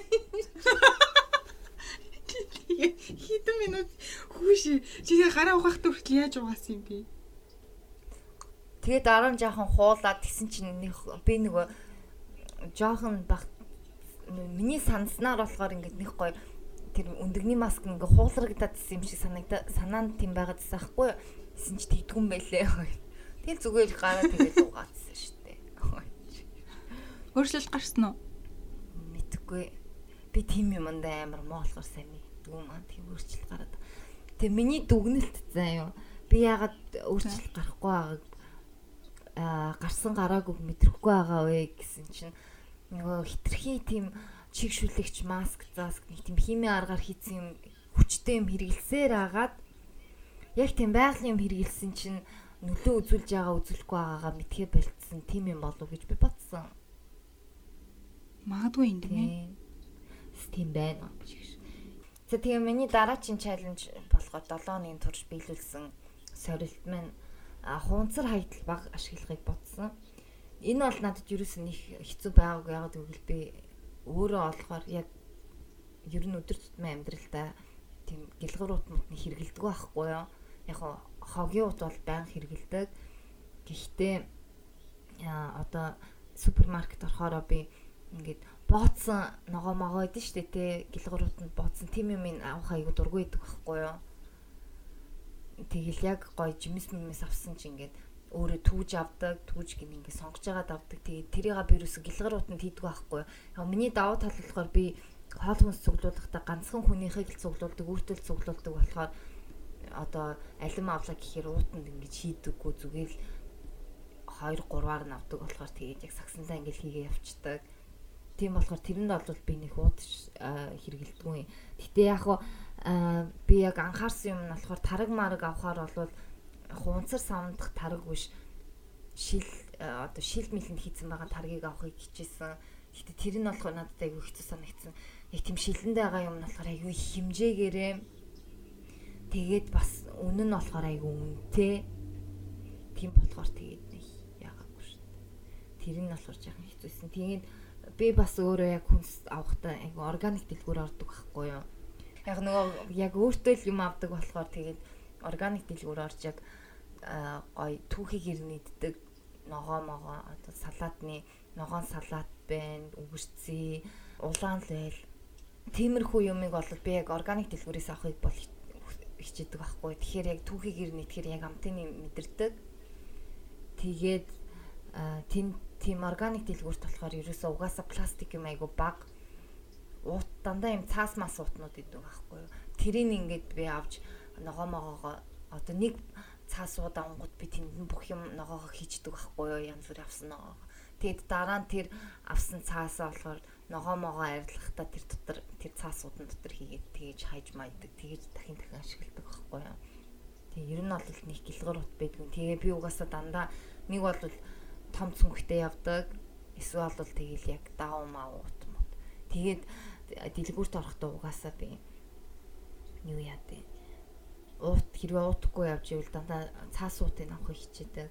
F: Хитэн минут хүүш чи гараа ухахт хүртэл яаж угаасан юм бэ?
E: Тэгээ дараа нь жоохон хуулаад тэгсэн чинь би нөгөө жоохон баг миний санснаар болохоор ингээд нэг гоё тэр өндөгний маск ингээ хуулрагдаад ирсэн юм шиг санаанд тийм байгаад байсан хгүй юу? Тэсэн чи тэгдгүн байлээ. Тэгэл зүгээр гараа тэгээд угаацсан шүү дээ.
F: Өөрчлөлт гарсан уу?
E: Мэдгүй. Би тийм юмд амар муу болохоор сайн мэдгүй маа тийм өөрчлөлт гараад. Тэгээ миний дүгнэлт заа юу. Би яагаад өөрчлөлт гарахгүй байгааг гарсан гараагүй мэдрэхгүй байгаа вэ гэсэн чинь нөгөө хитрхи тийм чигшүүлэгч маск заск нэг тийм химийн аргаар хийсэн юм хүчтэй юм хэрэгэлсээр агаад яг тийм байгалийн юм хэрэгэлсэн чинь нөлөө үзүүлж байгаа үзүүлэхгүй байгаагаа мэдхээ болцсон тийм юм болов гэж би бодсон.
F: Магадгүй юм тийм.
E: Тийм байна гэж. За тэгээ миний дараагийн чаленж болохоор 7 хоногийн турш биелүүлсэн сорилт маань хуванцар хаягдл баг ашиглахыг бодсон. Энэ бол надад ерөөсөн их хэцүү байгаагүй яагаад гэвэл би өөрөө олохоор яг ер нь өдөр тутмын амьдралдаа тийм гэлгэр утмын хэрэгэлдэг байхгүй юу. Яг хогийн ут бол байнга хэрэгэлдэг. Гэхдээ одоо супермаркет орохороо би ингээд бооцсон ногоо могоо идэв штэ те гэлгэр утанд бооцсон тийм юм авах аягүй дургүй идэг байхгүй юу. Тэгэл яг гоё жимс мэмс авсан чи ингээд өөрөө түүж авдаг, түүж гин ингээ сонгож агаад авдаг. Тэгээд тэрийг би юусэн гэлгар утанд хийдэг байхгүй юу. Яг миний давуу тал болохоор би хоол хүнс цуглуулахдаа ганцхан хүнийхийг л цуглуулдаг, өөртөө л цуглуулдаг болохоор одоо алим авлаа гэхээр уутанд ингэж хийдэггүй зүгээр л 2-3-аар нь авдаг болохоор тэгээд яг сагсандаа ингэж хийгээ явцдаг. Тийм болохоор тэрэнд бол би нэг уудаж хэрэгэлдэггүй. Гэтэ яг би яг анхаарсан юм нь болохоор тараг мараг авахаар бол хунцар савндах тараг биш одоо шил мэлэнд хийцэн байгаа таргийг авахыг хичээсэн. Гэтэ тэр нь болохоор надад айгүй хэцүү санагдсан. Яг тийм шилэндээ байгаа юм нь болохоор айгүй хэмжээгээрээ тэгээд бас үнэн нь болохоор айгүй үнэтэй. Тийм болохоор тэгээд нэг яагаагүй шүү дээ. Тэр нь болохоор жоохон хэцүүсэн. Тэгээд би бас өөрөө яг хүнс авахдаа айгүй органик дэлгүүр ордог байхгүй юу. Яг нөгөө яг өөртөө л юм авдаг болохоор тэгээд органик дэлгүүр орж яг гой түүхийг ирнэддэг ногоо могоо одоо салаатны ногоон салаат байна, үгэрцээ, улаан лэл. Тиймэрхүү юмыг бол би яг органик дэлгүүрээс авахыг бол хичээдэг байхгүй. Тэгэхээр яг түүхийг ирнэдэхээр яг амтны мэдэрдэг. Тэгээд тийм органик дэлгүүрт болохоор ерөөсөө угаасаа пластик юм айгу баг. Уут дандаа юм цаас мас уутнууд идэв байхгүй юу. Тэрийг ингээд би авч ногоо могоогоо одоо нэг цаас уудаа онгод би тэнд бүх юм ногоогоо хийждэг байхгүй юу. Янз бүр авсан ногоогоо. Тэгэд дараа нь тэр авсан цаасаа болохоор ногоо могоо арилгахтаа тэр дотор тэр цаасуудын дотор хийгээд тэгэж хайж майдаг. Тэгэж дахин ашигладаг байхгүй юу. Тэгээ ер нь бол нэг гэлгэр ут байдгүй. Тэгээ би угаасаа дандаа нэг бол том цүнхтэй явдаг. Эсвэл бол тэгээл яг даав маа ут мод. Тэгээд дэлгүүрт орохдоо угаасаа би юу яадаг. Уут хэрвээ уутахгүй явж ивэл дандаа цаас уутыг авахыг хичээдэг.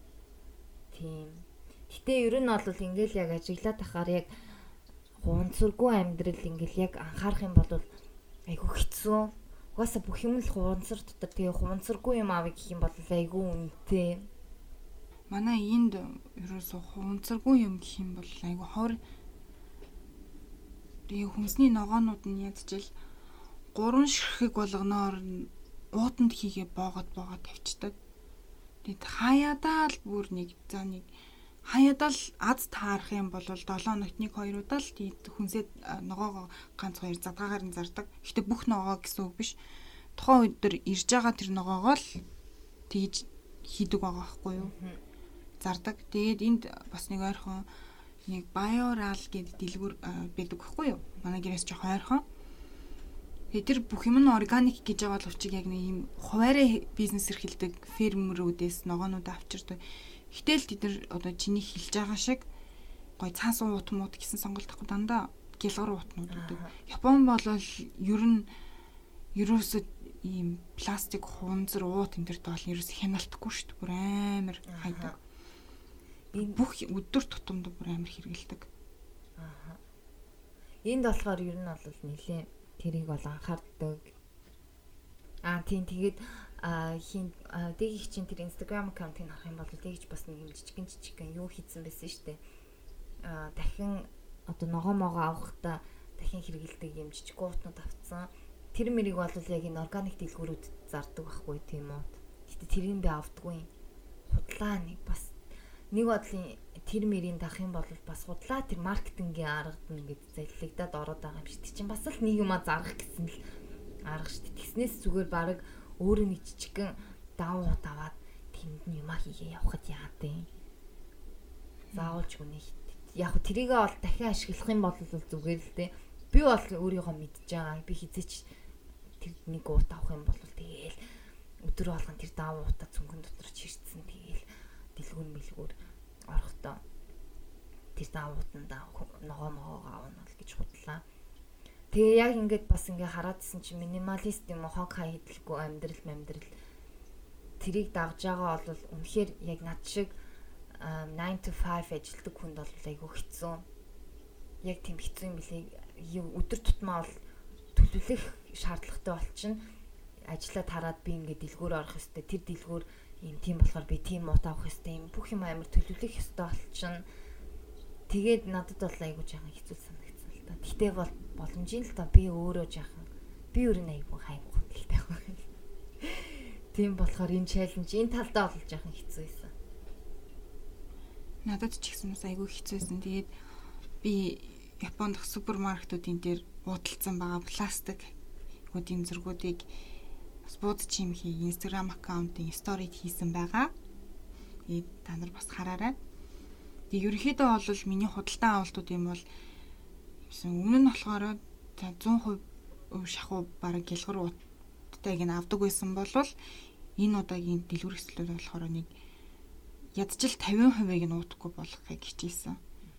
E: Тийм. Гэтэ ер нь бол ингээл яг ажиглаад тахаар яг хунцаргүй амьдрал ингээл яг анхаарах юм бол айгүй хэцүү. Угаасаа бүх юм л хунцар дотор тэгээ хунцаргүй юм авъя гэх юм бол айгүй үнэтэй.
F: Манай энд ерөөсөө хунцаргүй юм гэх юм бол айгүй хор. Тэгээ хүнсний ногоонууд нь ядчил 3 ширхэг болгоноор уутанд хийгээ боогод тавьчихдаг. Тэгэд хаяадаа л бүр нэг за нэг хаяадаа л аз таарах юм бол 7 хоногт 1-2 удаа л хүнсээ ногоогоо ганц 2 задгаагаар нь зардаг. Гэтэ бүх ногоо гэсэн үг биш. Тухайн өдөр ирж байгаа тэр ногоогоо л тэгж хийдэг байгаа байхгүй юу? Зардаг. Тэгээд энд бас нэг ойрхон нэг Bioral гэдэг дэлгүүр байдаг байхгүй юу? Манай гэрээс жоох ойрхон. Тэгээд тэр бүх юм нь органик гэж байгаа боловч яг нэг юм хуваарай бизнес эрхэлдэг фермерүүдээс ногоонууд авчирдаг. Гэтэл тэд нар одоо чиний хэлж байгаа шиг гой цаас уут мууд гэсэн сонголт авах дандаа гэлгар уутнууд үүдэг. Япон бол ер нь ерөөсөө ийм пластик хунзар уут энэ төрт бол ерөөсөө хяналтахгүй шүү дээ. Бүр амар хайдаг. Энэ бүх өдөр тутамд бүр амар хэрэгэлдэг.
E: Аа. Энд болохоор ер нь бол нэлээ тэрийг бол анхаардаг. Тийм тэгээд дэгийх чинь тэр Instagram аккаунтыг харах юм бол дэгийч бас нэг юм жижигэн юу хийсэн байсан шүү дээ. Дахин одоо ногоо могоо авахдаа дахин хэрэгэлдэг юм жижиг уутнууд авцсан. Тэр мэрийг бол яг энэ органик дэлгүүрүүд зардаг байхгүй тийм үү. Гэтэ тэрийг би авдаггүй. Худлаа нэг бас нэг бодлын тэр мэрийн дахин бол бас худлаа тэр маркетингийн аргад ингээд заллигдаад ороод байгаа юм шиг. Тэг чинь бас л нэг юма зарах гэсэн л арга шүү дээ. Тэснээс зүгээр баг өөрөө нэг жижигэн давуу таваад тэнд нь юма хийгээ явахад яадیں۔ Заавалж хүнийг яг тэрийгээ бол дахин ашиглах юм бол зүгээр л дээ. Би бол өөрийгөө мэдж байгаа. Би хизээч тэр нэг уут авах юм бол тэгээл өдөр болгон тэр давуу утаа цүнхэн дотор чирцсэн тэгээл дэлгүүр орохдоо тэр давуутанда ногоо могоог аавна бол гэж худлаа. Тэгээ яг ингээд бас ингээ хараадсэн чи минималист юм хог хай хэдлэхгүй амьдрал тэрийг дагж байгаа бол үнэхээр яг над шиг 9 to 5 ажилладаг хүнд бол айгүй хэцүү. Яг тийм хэцүү юм билээ. Өдөр тутмаа бол төлөвлөх шаардлагатай болчихно. Ажлаа тараад би ингээд дэлгүүр орох ёстой. Тэр дэлгүүр юм тийм болохоор би тийм уут авах ёстой. Юм бүх юм амар төлөвлөх ёстой болчихно. Тэгээд надад бол айгүй жаахан хэцүү санагдсан л та. Гэтэ бол боломжийн л та би өөрөө жаахан би өөр нь айгүй хайгуу хэлтэй байна. Тийм болохоор энэ челленж энэ талдаа бол жаахан хэцүү байсан.
F: Надад ч ихсэн бас айгүй хэцүүсэн. Тэгээд би Японд супермаркетуудын дээр уудалцсан байгаа пластик гүдийн зэргүүдийг бас бууд чимхий Instagram аккаунтын сторид хийсэн байгаа. Тэгээд та нар бас хараарай. Тэгээд ерөнхийдөө бол миний худалдан авалтууд юм бол өмнө нь болохоор 100% шахуу бараг гэлгэр уудтайг нь авдаг байсан болвол энэ удаагийн дэлгүр хэсэлүүд болохоор нэг ядчил 50%-ийг нь уудахгүй болгохыг хичээсэн.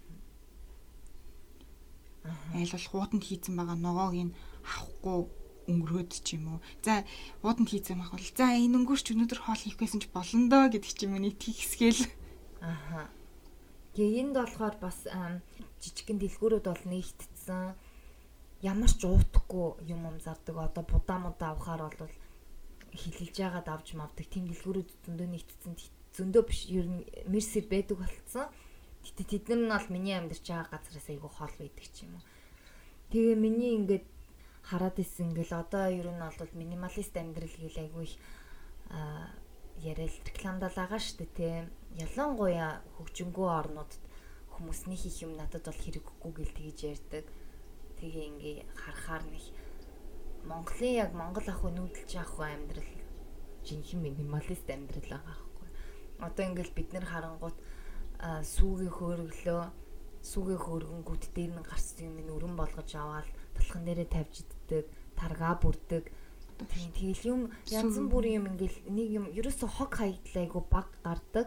F: Айл бол хууданд хийцэн байгаа ногоог нь авахгүй өнгөрөөд ч юм уу. За хууданд хийцэн байх бол за энэ өнгөрч өнөөдөр хоол хийх байсан ч болно доо гэдэг ч юм уу нэг тийхсгээл.
E: Аха. Тэгээ энд болохоор бас жижигхэн дэлгүүрүүд бол нэгтдсэн. Ямар ч уутахгүй юм зардаг. Одоо будаа авахаар бол хилэлж яагаад авч мавдаг. Тим дэлгүүрүүд зөндөө нэгтдсэн. Зөндөө биш ер нь мерсер байдаг болцсон. Гэтэ тэд нар нь бол миний амьдарч байгаа газараас айгүй хол байдаг ч юм уу. Тэгээ миний ингээд хараад исэн ингээл одоо ер нь бол минималист амьдрал гэл айгүй яриад рекламдал байгаа шүү дээ тий. Ялангуяа хөгжингөө орнуудад хүмүүсний хийх юм надад бол хэрэггүй гэл тэгж ярьдаг. Тэгээ ингээ харахаар нэг Монголын яг Монгол ах уу нүүдэлж авах амьдрал жинхэнэ минималист амьдрал байгаа байхгүй. Одоо ингээл бид нар харангуут сүүгийн хөөргөнгүүд дээр нь гарсан юм өргөн болгож аваад талхан дээрээ тавьж иддэг, таргаа бүрдэг. Тэгэл юм янз бүрийн юм ингээл нэг юм ерөөсө хог хаягдлайгу баг гардаг.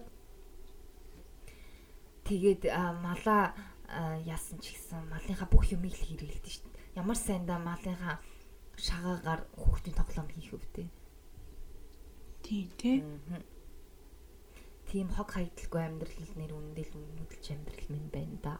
E: Тэгээд малаа яасан ч гэсэн малынхаа бүх юмыг л хэрэглэдэг шүү дээ. Ямар сайндаа малынхаа шагаагаар хүүхдийн тоглоом хийх өвдөө.
F: Тийм.
E: Тийм хог хаягдлгүй амьдрал нэр үндэл нүдэлж амьдрал минь байна да.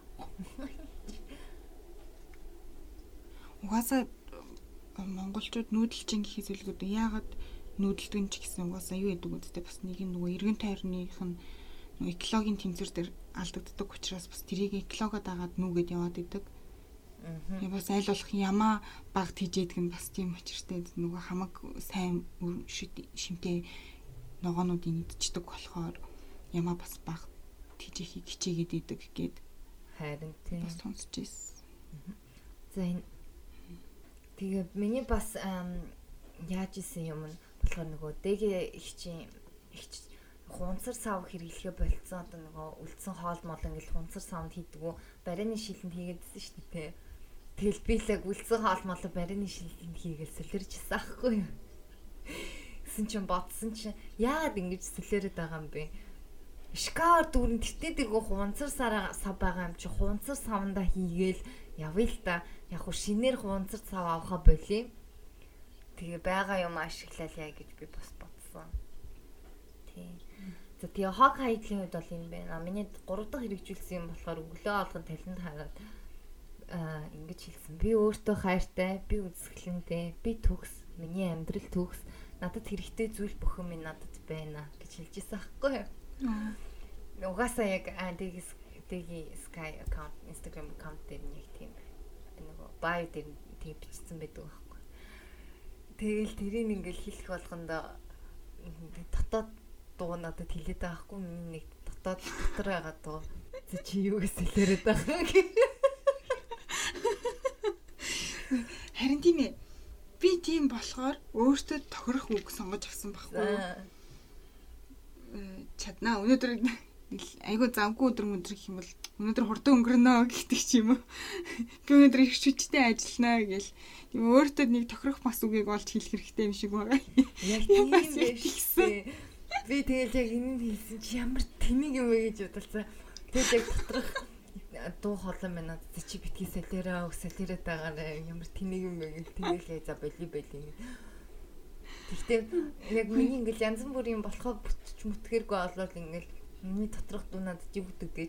F: Угаасаа монголчууд нүүдэлчин гэхээс илүүтэй яагаад нүүдэлдэг нь ч гэсэн угаасаа юу гэдэг үстэй бас нэг нөгөө эргэн тойрных нь нөгөө экологийн тэмцэр дээр алдагддаг учраас бас тэрийг экологод дагаад нүгэд яваад идэг. Яг бас аль болох ямаа баг тийжээдэг нь бас тийм учиртай нөгөө хамаг сайн шимтэй ногоонуудыг идчихдэг болохоор ямаа бас баг тийжээхийг хичээгээд идэг гээд
E: харин тийм
F: бас сонсч ирсэн.
E: За энэ тэгээ миний бас яаж исэн юм нь болохоор нөгөө дэгэ ихчийн хунцар сав хэрэглэхэ болцсон одоо нөгөө үлдсэн хоол мол ингээл хунцар савнд хийдгүү барины шилэнд хийгээдсэн шүү дээ. Тэгэл би л яг үлдсэн хоол мол барины шилэнд хийгээл солирчсан аахгүй юу. Гэсэн чинь бодсон чинь яагаад ингэж солиороод байгаа юм бэ? Шкаф дүүрэн тэтээд иргүү хунцар сав байгаа юм чи хунцар савнда хийгээл явъя л та. Яг хөө шинээр хунцар сав авахаа болий. Тэгээ байгаа юм ашиглал яа гэж би бас бодсон. Тийм. За тэгээ хог хайдлын үед бол юм байна. Миний 3 дахь хэрэгжүүлсэн юм болохоор өглөө алган талент хараад ингэж хэлсэн. Би өөртөө хайртай, би үзэсгэлэнтэй, би төгс, миний амьдрал төгс, надад хэрэгтэй зүйл бүхэн минь надад байна гэж хэлж ирсэн аахгүй юу? Угаасаа яг дэги Sky account, Instagram account дээр нэг тийм нөгөө bio дээр тийм бичсэн байдаг байхгүй. Тэгэл тэрийг ингээл хэлэх болгондоо дотоод дуу надад хэлээд байгаа хгүй миний нэг дотоод дотор байгаа дуу. За чи юу гэж хэлээд байгаа юм.
F: Харин тийм ээ. Би тийм болохоор өөртөө тохирох үг сонгож авсан байхгүй юу? Чаднаа өнөөдөр айгуу завгүй өдөр гэх юм бол өнөөдөр хурдан өнгөрнө гэдэг ч юм уу. Би өнөөдөр их хүчтэй ажиллана гэл. Тийм өөртөө нэг тохирох бас үгийг олж хэлэх хэрэгтэй юм шиг байгаа.
E: Яг тийм байсан. Би тэгэл яг энэ хэлсэн чи ямар тэмэг юм бэ гэж бодолцоо. Тэгэл яг доторх дуу хоолой минь чи битгий солиороод байгаарай. Ямар тэмэг юм бэ гэл тэгэл за боли. Тэгтээ яг миний ингээл янз бүрийн болохоо бүтч мүтгэргүй болоод ингээл миний доторх дуу надад юу гэдэг гэж.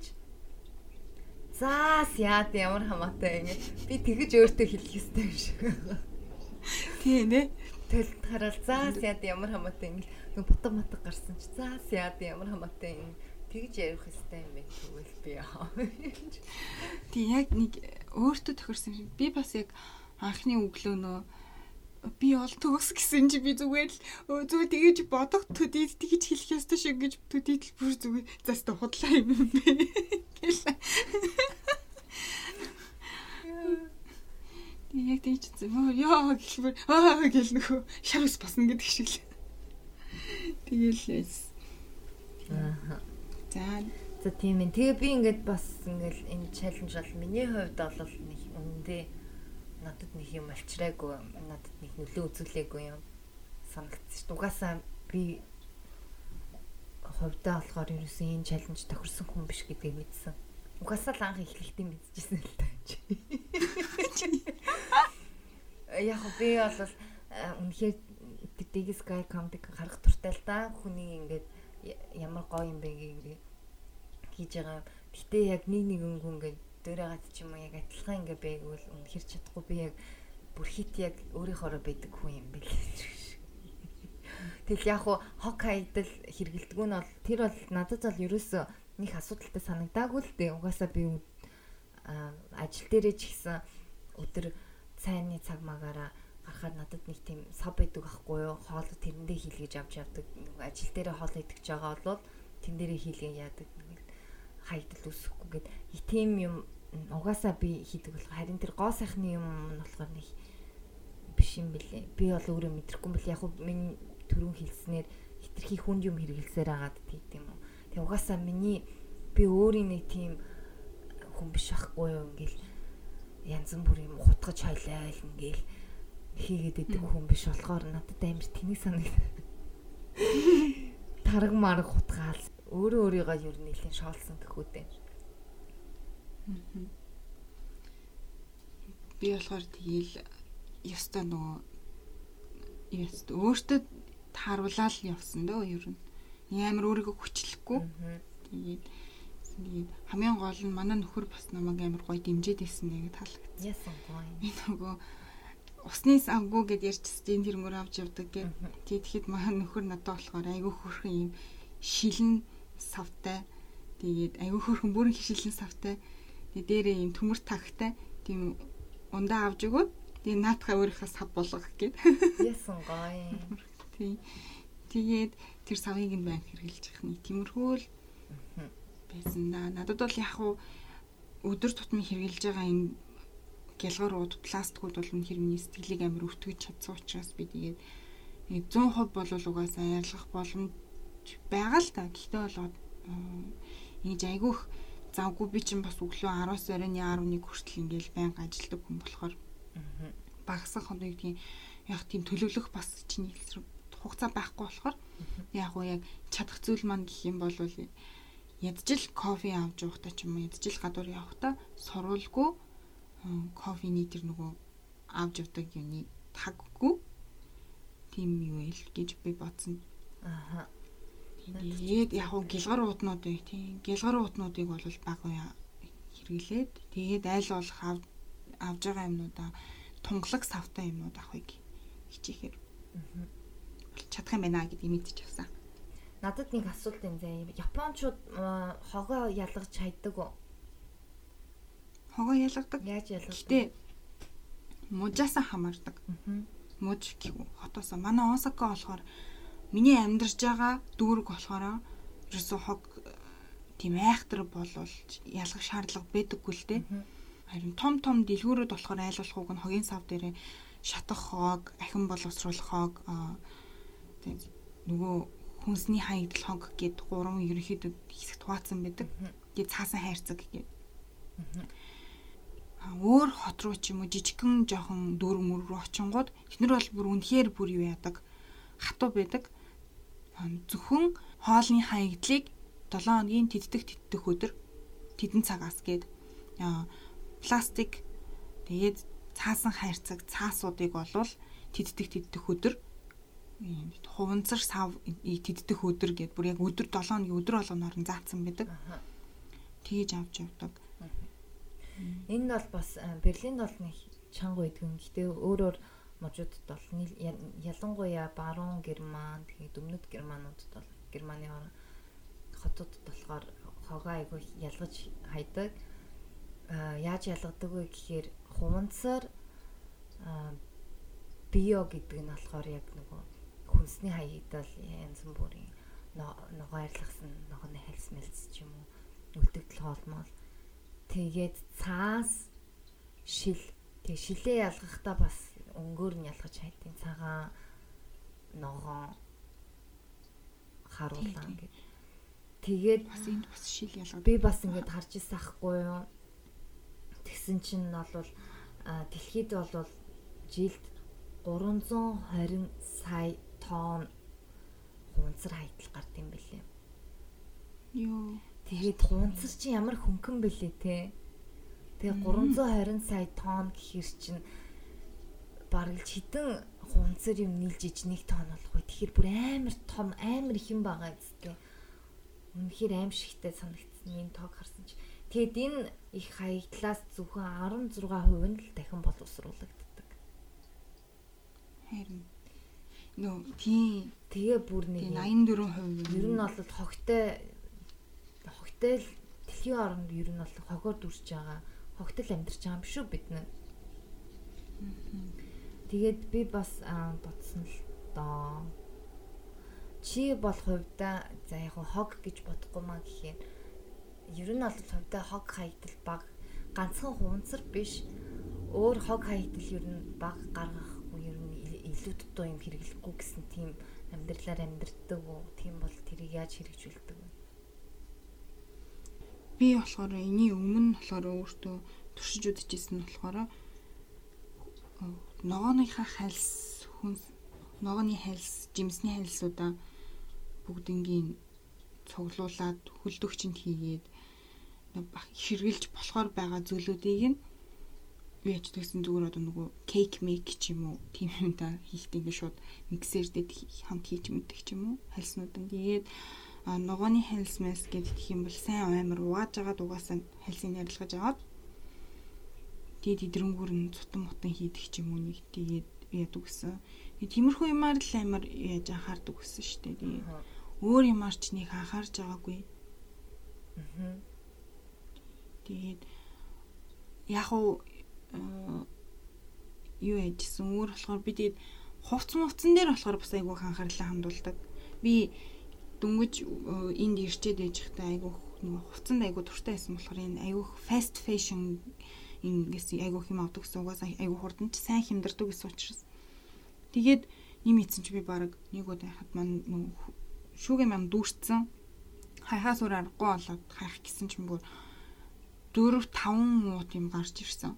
E: Заас яад ямар хамаатай ингэ. Би тэгэж өөртөө хэлэх ёстой юм шиг.
F: Тийм ээ.
E: Тэгэл хараад заас яад ямар хамаатай ингэ. Бутга матг гарсан чи заас яад ямар хамаатай ингэ. Тэгж ярих ёстой юм байна тэгвэл би яа. Тийм
F: яг нэг өөртөө тохирсон юм. Би бас яг анхны өглөөнөө би ол төгс гэсэн чи би зүгээр л зүгээр тэгэж бодох төдийд тэгэж хэлэх ёстой шиг гэж төдийд л бүр зүгээр заастаа худлаа юм бэ. Яг тийч зөө яа гэхвэр гэл нөхөө шар ус босно гэдэг шиг л. Тэгэлээс.
E: За тийм ээ. Тэгээ би ингээд бас ингээд энэ чаленж бол миний хувьд бол нэг үндэ надад нэг юм алчраагүй, надад нэг нөлөө үзүүлээгүй юм санагдчих. Угаасаа би хувьдаа болохоор ерөөсөн энэ чаленж тохирсон хүн биш гэдгийг мэдсэн. Угаасаа л анх эхлэхдээ мэдчихсэн л таа. Яг би бол үнэхээр Big Sky Comedy харах туртай л да. Хүний ингээд ямар гоё юм бэ гэх хийж байгаа. Гэтэ яг нэг хүн ингээд дөөрөөд ч юм уу яг адилхан ингээд байгвал үнэхэр чадахгүй би яг бүр хит яг өөрийнхоороо байдаг хүн юм бэл. Тэгэл яг хог хайдал хэргэлдэг нь бол тэр бол надад бол ерөөсөө нэг асуудалтай санагдаагүй л дээ. Угаасаа би ажил дээрээ ч гэсэн өдөр цайны цаг магаараа гарахад надад нэг тийм сав байдаг байхгүй юу? Хоол тэрэндээ хийлгэж авч явдаг. Ажил дээрээ хоол идэж байгаа бол тэн дээрээ хийлгээ яадаг. Хайдал үсэхгүй гэд тийм юм угаасаа би хийдэг болох. Харин тэр гоо сайхны юм нь болохоор нэг биш юм бэлээ. Би бол өөрөө мэдрэхгүй бэл яг миний түрүүн хэлснээр хитрхи хүнд юм хэрэгэлсээр агаад тийм юм. Тэг угаасаа би өөрийн нэг тийм хүн биш ахгүй юу ингээл янз бүр юм хутгаж хойлоо ингээл хийгээд идэг хүн биш болохоор надад амар тэнэг санагдав. Тараг мараг хутгаал өөрийгөө юу нэлийн шоолсон гэхүүдээ.
F: Би болохоор тэгээл ёстой нөгөө өөртөө тааруулаад явсан дөө ер нь. Амар өөрийгөө хүчлэхгүй. Тэгээд хамгийн гол нь манай нөхөр бас намайг амар гоё дэмжиж байсан нэг таалагдсан.
E: Яасан гоё.
F: Би нөгөө усны савгүй гэд ярьчихсан тэр мөр авч явдаг гэд. Тэгэхэд манай нөхөр надад болохоор айгүй хөрхэн юм шилэн савтай. Тэгээд айгүй хөрхэн бүрэн хишилэн савтай. Тэгээд дээрээ юм төмөр тагтай. Тийм ундаа авч өгөөд тэгээд наатахаа өөрийнхөө сав болгох гэд.
E: Яасан гоё.
F: Тэгээд тэр савыг нь байна хэрглэж явах нэг тиймэрхүү л байсан да. Надад бол яг өдөр тутмын хэрглэж байгаа энэ гялгарууд, пластикууд бол үнэхээр миний сэтгэлийг амар өвтгөж чадсан учраас би тэгээд 100% бол угаасаа ярилцах боломж байгаа л та. Гэхдээ бол энэ айгүйх завгүй би чинь бас өглөө 10-аас оройн 11 хүртэл ингээл байнга ажилладаг хүн болохоор багасах хоног тийм яг тийм төлөвлөх бас чинь хугацаа байхгүй болохоор яг чадах зүйл маань гэх юм бол ядчил кофе авч явахдаа ч юм уу ядчил гадуур явахдаа сурвалгүй кофений тэр нөгөө авч явдаг юуны таггүй тийм юу ил гэж би бодсон. Тэгээд яг гэлгар уутнуудыг тийм гэлгар уутнуудыг бол бага хэрэглээд тэгээд айл болох авж байгаа юмнуудаа тунгалаг савтай юмнууд авахыг хичээхээр чадах юм байна гэдгийг мэдчихсэн.
E: Надад нэг асуулт энэ заяа. Японочууд хогоо ялгаж хайдаг уу?
F: Хогоо ялгадаг.
E: Яаж ялгадаг?
F: Гэтэ мужаасаа хамаардаг. Муж гэв хотоосоо манай Осака болохоор миний амьдарч байгаа дүүрэг болохоор ерөөсөө хог тийм айхтар болвол ялгах шаардлага байдаггүй л дээ. Харин том дэлгүүрүүд болохоор айлуулах уг нь хогийн сав дээр шатах хог, ахин боловсруулах хог нөгөө хүнсний хаягдл хог гэд 3 ерөнхийдөө хэсэгт хуваацсан байдаг. Тэгээд цаасан хайрцаг гэд. Өөр хот руу ч юм уу жижигхэн жоохон дүүрэг мөр рүү очингууд эхнэр бол бүр үнэхээр бүр юу яадаг хатуу байдаг. Зөвхөн хоолны хаягдлыг 7 хоногийн тэддэх өдөр тэдэн цагаас гээд пластик тэгээд цаасан хайрцаг цаасуудыг болвол тэддэх өдөр хуванцар сав тэддэх өдөр гэд бүр яг өдөр 7 хоногийн өдөр болгоноор нь заасан байдаг. Тэгэж авч явдаг.
E: Энэ бол бас Берлинд бол нэг чанга байдгүй. Гэхдээ өөрөөр мужуудад бол ялангуяа баруун Герман тэгээд өмнөд Германуудад бол Германы хотуудад болохоор хогоо айгүй ялгаж хайдаг. Яаж ялгадаг вэ гэхээр хуванцар био гэдэг нь болохоор яг нөгөө хүнсний хаягдал янз бүрийн ногоо арилгасан ногооны хальс мэлс ч юм уу үлдэгдэл хоолмол тэгээд цаас шил тэг шилээ ялгахдаа бас өнгөөр нь ялгаж хайдیں۔ Цагаан ногоо харуулаа ингээд тэгээд
F: бас энд бас шил ялгаад
E: би бас ингээд харж ирсэн ахгүй юу. Тэгсэн чинь бол дэлхийд бол жилд 320 сая тонн хунцар хаягдал гардаг юм билээ.
F: Йоо.
E: Тэгээд хунцар чинь ямар хөнгөн бэлээ те. Тэгээ 320 сая тонн гэхэр чинь бараг л хитэн хунцар юм нийлж иж 1 тонн болох бай. Тэгэхээр бүр амар том амар их юм байгаа зү. Үнэхээр аимшигтай санагдсан энэ тоог харсан чи. Тэгэд энэ их хаягдлаас зөвхөн 16% нь л дахин боловсруулагддаг.
F: Харин нөө тийм
E: тэгээ бүр нэг
F: 84%
E: ер нь бол хогтой л дэлхийн оронд ер нь бол хогоор дүрж байгаа. Хогтол амьдарч байгаа юм шүү бид нар. Тэгээд би бас бодсон л доо. Чи бол хувьдаа за яг хог гэж бодохгүй маа гэхээр ер нь бол хувьдаа хог хаягдал баг ганцхан хунцар биш. Өөр хог хаягдал ер нь баг гаргахгүй ер нь илүү дутуу юм хэрэглэхгүй гэсэн тийм амьдралаар амьдэрдэг үү? Тийм бол тэрийг яаж хэрэгжүүлдэг вэ?
F: Би болохоор эний өмнө болохоор өөртөө туршиж үзчихсэн нь болохоор ногооныхаа хальс ногооны хальс, жимсний хальсуудаа бүгднгийн цуглуулад хөлдөгчөнд хийгээд хэрглэж болохоор байгаа зүйлүүдийг нь яаж тэгсэн зүгээр одоо нөгөө кейк мейк ч юм уу тийм юм да хийхдээ ингээд шууд миксердээ хамт хийж мэддэг ч юм уу хальснууданд тэгээд ногооны хальс мэс гэдэг юм бол сайн амар угааж агаад угаасаа хальсыг ярилгаж аваад тэгээд идрэнгүүр нь цутан мутан хийдэг ч юм уу нэг тэгээд яадаг гэсэн. Тиймэрхүү юмар л амар яаж анхаардаг гэсэн шүү дээ. Тэгээд өөр юмар ч нэг анхаарч байгаагүй. Тэгээд яг уу юу яжсэн өөр болохоор би тэгээд хувцсан дээр болохоор бас айгүй анхаарлаа хандуулдаг. Би дөнгөж энд ирчээд байж захтай айгүй нөгөө хувцсанд айгүй дуртай байсан болохоор энэ айгүй fast fashion ингээс айгүй хэм авдаг гэсэн угаасаа айгүй хурдан ч сайн хямдардаг гэсэн учраас тэгээд юм ийцэн чи би баг нэг удаа хахад маань шүүгээ маань дүүрцэн хайхаас өөр аргагүй болоод хайх гэсэн чинь бүр 4-5 мууд юм гарч ирсэн.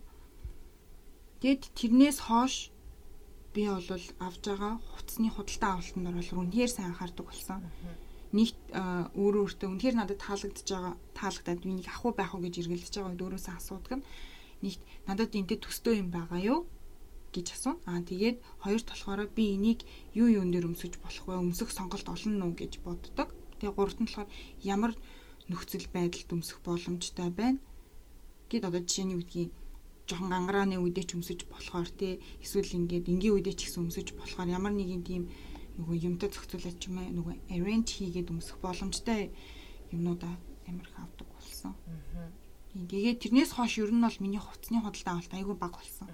F: Тэгэд тэрнээс хойш би бол авж байгаа хувцсны худалдаа авалтанд бол үнэхээр сайн анхаардаг болсон. Нэг өөртөө үнэхээр надад таалагдаад би нэг ах уу байх уу гэж эргэлдэж байгаа үед өөрөөсөө асуудаг нь нэг надад энтэй төстэй юм байгаа юу гэж асуув. Тэгээд хоёрт болохоор би энийг юу юун дээр өмсөж болох вэ? Өмсөх сонголт олно уу гэж боддог. Тэгээ гуравт нь болохоор ямар нөхцөл байдалд өмсөх боломжтой байна гэд одоо жишээний үдгийн жоохон гангарааны үедээ ч өмсөж болохоор тий эсвэл ингээд энгийн үедээ ч гэсэн өмсөж болохоор ямар нэгэн тийм нөгөө юмтай зохицуулаад ч юм аа нөгөө arrange хийгээд өмсөх боломжтой юмнуудаа амар их авдаг болсон. Тэгээд тэрнээс хойш ер нь бол миний хувцсны худалдаа авалт айгүй бага болсон.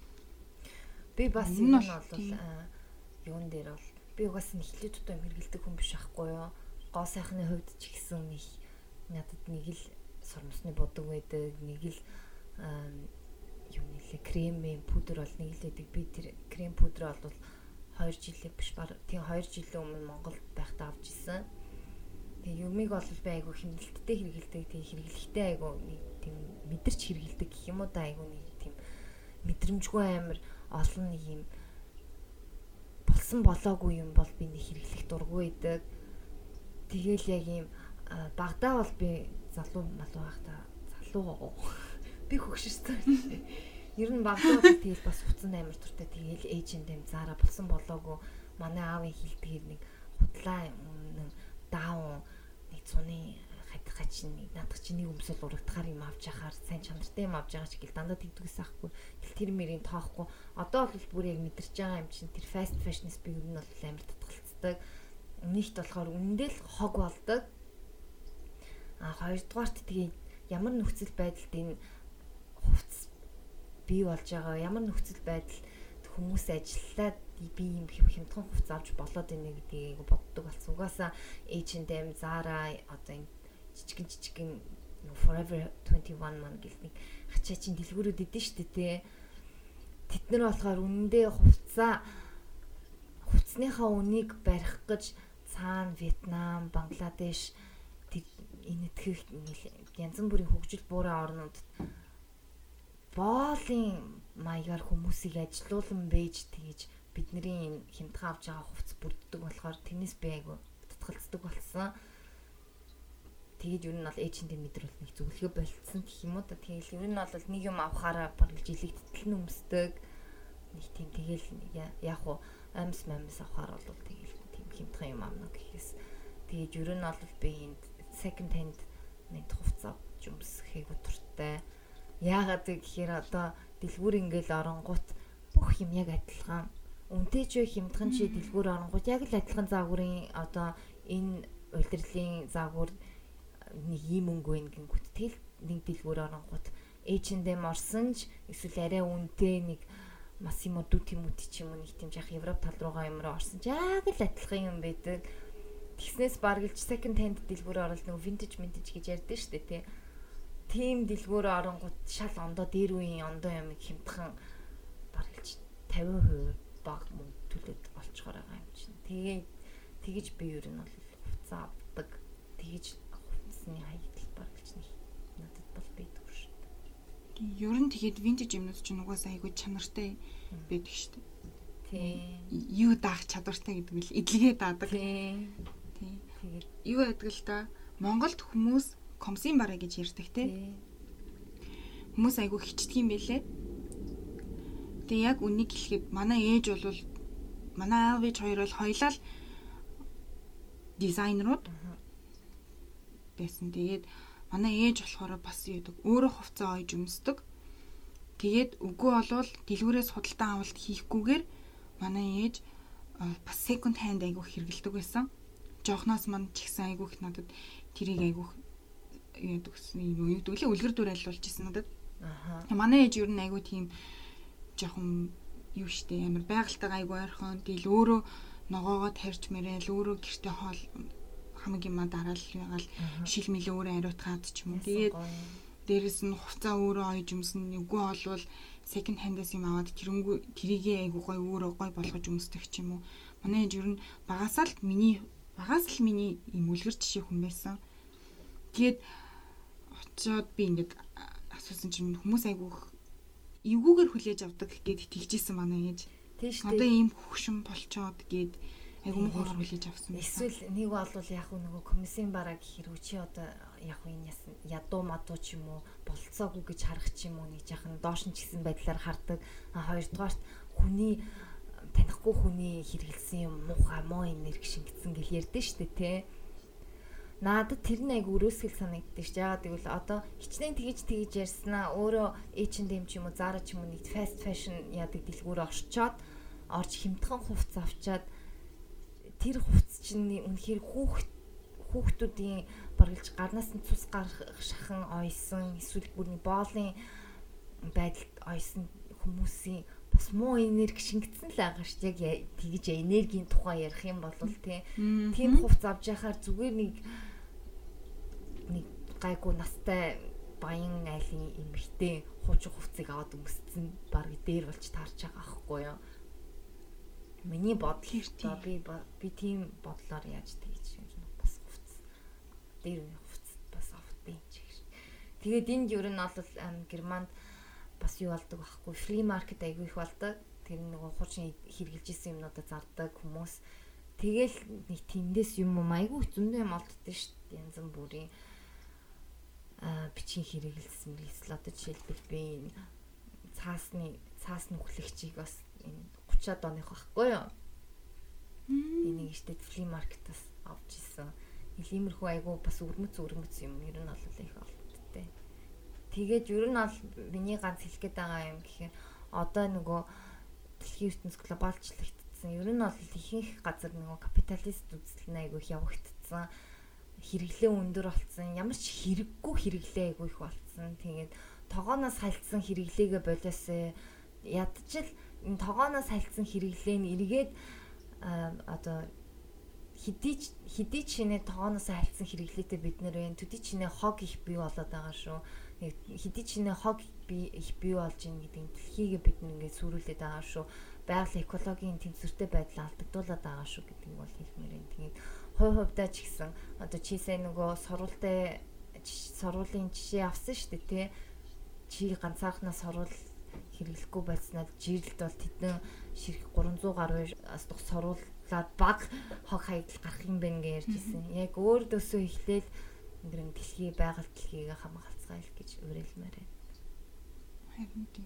E: Би бас энэ нь бол юун дээр бол би угаасаа нэхлээ тутам хэрэгэлдэг хүн биш ахгүй юу. Гоо сайхны хувьд ч гэсэн нэг надад нэг л сормосны бодог байдаг, нэг л юу нэлээ крем пудр бол нэг л байдаг. Би тэр крем пудр бол 2 жилээ биш баг тийм 2 жилийн өмнө Монголд байхдаа авч ирсэн. Тэгээ юмыг бол би айгүй хэмнэлттэй хэрэгэлдэг. Тэгээ хэрэглэхтэй айгүй нэг тийм мэдэрч хэрэгэлдэг гэх юм уу да айгүй нэг тийм мэдрэмжгүй амар олон нэг юм болсон болоогүй юм бол би нэг хэрэглэх дургүй байдаг. Тэгээл яг юм багтаа бол би залуу малуу байхдаа залуу би хөгшөрсөн. Ер нь багтаа бол тэгэл бас хуцсан амар туртай тэгэл эйжент юм заараа болсон болоогүй манай аавын хилдгээр нэг худлаа даун нэг цуны хатгач нэг надад чи нэг өмсөл урагдахаар юм авч яхаар сайн чанартай юм авч байгаа ч гэл дандаа тэгдэгээс ахгүй тэр мэрийн тоохгүй одоо бол бүр яг мэдэрч байгаа юм чинь тэр fast fashion-с би ер нь бол амар татгалцдаг нэгт болохоор үнэндээ л хог болдог хоёрдугаарт тэгээ ямар нөхцөл байдалд энэ хувцс бий болж байгаа ямар нөхцөл байдал хүмүүс ажиллаад би юм хямдхан хувц авч болоод байна гэдгийг боддог болсон. Угаасаа H&M, Zara одоо энэ жижигэн Forever 21 маань гэл нэг хачаа чин дэлгүүрүүд идэв штэ тий. Тэд нар болохоор үнэндээ хувцсныхаа үнийг барих гэж цаана Вьетнам, Бангладеш энэ итгэх янз бүрийн хөгжил буурай орнуудад боолын маягаар хүмүүсийг ажилуулан бэж тэгж бидний энэ хямдхан авч байгаа хувцс бүрддэг болохоор тэрнээс би айгу татгалцдаг болсон. Тэгээд ер нь бол H&M мэдрэл нэг зөвлөгөө болцсон гэх юм уу та. Тэгэл ер нь бол нэг юм авахаараа баг жилиг тэтгэл нөмсдөг. Нэг тийм тэгэл яг уу амс авахаар бол тэгэл тийм хямдхан юм аавна гэхээс. Тэгээд ер нь бол би энэ second hand нэг хувцас авч өмсөхийг дуртай. Яагаад гэхээр одоо дэлгүүр ингээл оронгууд бүх юм яг адилхан. Үнтэй ч хямдхан чи дэлгүүр оронгууд яг л адилхан заагуурын одоо энэ улирлын заагуур нэг юм өнгө ингэнгүүт тэл нэг дэлгүүр оронгууд H&M орсон ч эсвэл арай үнэтэй нэг Massimo Dutti ч юм уу нэг тийм жах Европ тал руугаа юмроо орсон ч яг л адилхан юм байдаг. Тэгснээс баргалж second hand дэлгүүр орол нэг vintage гэж ярьдэн штэ тий. Тийм дэлгүүр оронгууд шал ондоо дээр үеийн ондоо юм хямдхан баргалж 50% баг мөнгө төлөөд олцохоор байгаа юм чинь. Тэгэж би ер нь бол хувцас авдаг. Тэгэж хувцсны хаягдл баргалж нэг надад бол байдаг шүү дээ.
F: Ер нь тэгээд vintage юмнууд чинь угаасаа айгүй чанартай байдаг шүү дээ. Тий. Юу даах чадвартай гэдэг нь эдлэгээ даадаг. Тий. Тэгээд юу байдаг л да. Монголд хүмүүс комсын бараа гэж ярьдаг тий. Хүмүүс айгүй хичдэг юм байлээ. Тэгээ яг үнийг хэлэхэд манай ээж бол манай аав ээж хоёр бол хоёлаа дизайнерууд байсан. Тэгээд манай ээж болохоор бас юудаг өөрөө хувцас ойж өмсдөг. Тэгээд үгүй болвол дэлгүүрээс худалдан авалт хийхгүйгээр манай ээж бас second hand айгүй хэрэгэлдэг байсан. Жохноос манд ч ихсэн айгүй их надад тэрийг айгүй юудаг юм юу гэдэг лээ үлгэр дүр айлуулж ирсэн надад. Манай ээж ер нь айгүй тийм жоохон юу штэ амар байгальтайгаа айгүй ойрхон тэгэл өөрөө ногоогоо тарьж мэрэл өөрөө гэртээ хоол хамаг юм дараал ягаал шил мэлээ өөрөө ариутгаад ч юм уу. Тэгээд дээрэс нь хувцаа өөрөө ойж өмсөн үгүй болвол second hand-аас юм аваад тэрийгээ айгүй гой өөрөө гой болгож өмсдөг ч юм уу. Манай ээж ер нь багаас л миний юм үлгэр жишээ хүн байсан. Тэгээд очоод би ингээд асуусан чинь хүмүүс айгүй эвгүйгээр хүлээж авдаг гэд тэгжсэн манай ээж.
E: Тийш
F: одоо ийм хөвшин болчоод гээд айгүй муугаар хүлээж авсан байсан.
E: Эсвэл нэг бол яг нөгөө комиссийн бараа гэхэр үчи одоо яг энэ ядуу мадуу ч юм уу болцоогүй гэж харах ч юм уу нэг жахан доош нь ч гэсэн байдлаар хардаг. Хоёрдугаарт хүний танихгүй хүний хэрэгэлсэн юм муухай муу энерги шингэсэн гэж ярьдэн штэ тий. Надад тэр нэг өрөөсгөл санагддаг ш. Яагаад гэвэл одоо хичнээн тэгж ярьснаа өөрөө H&M ч юм уу Zara ч юм уу нэг fast fashion яадаг дэлгүүр орж хямдхан хувцас авчаад тэр хувцас чинь үнэхээр хүүхдүүдийн баргалж гарнаас нь цус гарах шахан ойсон эсвэл бүрний боолын байдалд ойсон хүмүүсийн бас муу энерги шингэсэн л байгаа ш. Яг тэгж энергийн тухай ярих юм бол тийм хувцас авч яхаар зүгээр нэг гайгүй настай баян айлын эмэгтэй хуучин хувцсыг аваад өмсцэн баг дээр болж таарч байгаа аахгүй юу. Миний бодол би тийм бодлоор яаж тэгж юм бас хувцс дээр үе хувцс бас авдیں۔ Тэгээд энд ер нь бол Германд бас юу болдог байхгүй фри маркет айгүй их болдог. Тэр нөгөө хуучин хэрэгжилж исэн юмнуудаа зардаг хүмүүс. Тэгэл нэг тэндээс юм айгүй зөндөө юм олддоо шүү дээ. Янз бүрийн бичгийн хэрэгэлсэн эсвэл одоо жишээлбэл би цаасны хүлэгчийг бас энэ 30-аад оных байхгүй юу. Энийг ихтэй фри маркетаас авч ирсэн. Иймэрхүү айгүй бас өрмөц юм ер нь бол их олддтой. Тэгээд ер нь бол миний ганц хэлэх гээд байгаа юм гэхээр одоо нөгөө дэлхийн ертөнц глобалчлагдсан. Ер нь бол ихэнх газар нөгөө капиталист үзэл нь айгүй явагдсан. Хэрэглээ өндөр болсон. Ямар ч хэрэггүй хэрэглээ айгүй их болсон. Тэгээд тогооноос хальцсан хэрэглээгээ болоосоо ядчил энэ тогооноос хальцсан хэрэглээ нь эргээд одоо хэдий чинээ тогооноос хальцсан хэрэглээтэй бид нэр байна. Төдий чинээ хог их бий болоод байгаа шүү. Хэдий чинээ хог их бий болж ийн гэдэг дэлхийг бид нэгээ сүрүүлээд байгаа шүү. Байгаль экологийн тэнцвэртэй байдал алдагдуулаад байгаа шүү гэдэг нь бол хэлмээр юм. Тэгээд хувьдаа ч гэсэн одоо чи сайн нөгөө сургуулийн жишээ авсан шүү дээ тий. Чи ганцаархнаа сурвал хэрэглэхгүй байснаар жирлэлд бол тэдэн ширх 300 гаруй асдах сурвалаад баг хог хаягдал гарах юм байна гэж ярьжсэн. Яг өөрөөсөө эхлээл ингэрэн дэлхий байгаль дэлхийг хамгаалцгаая л гэж уриалмаар байна.
F: Харин тийм.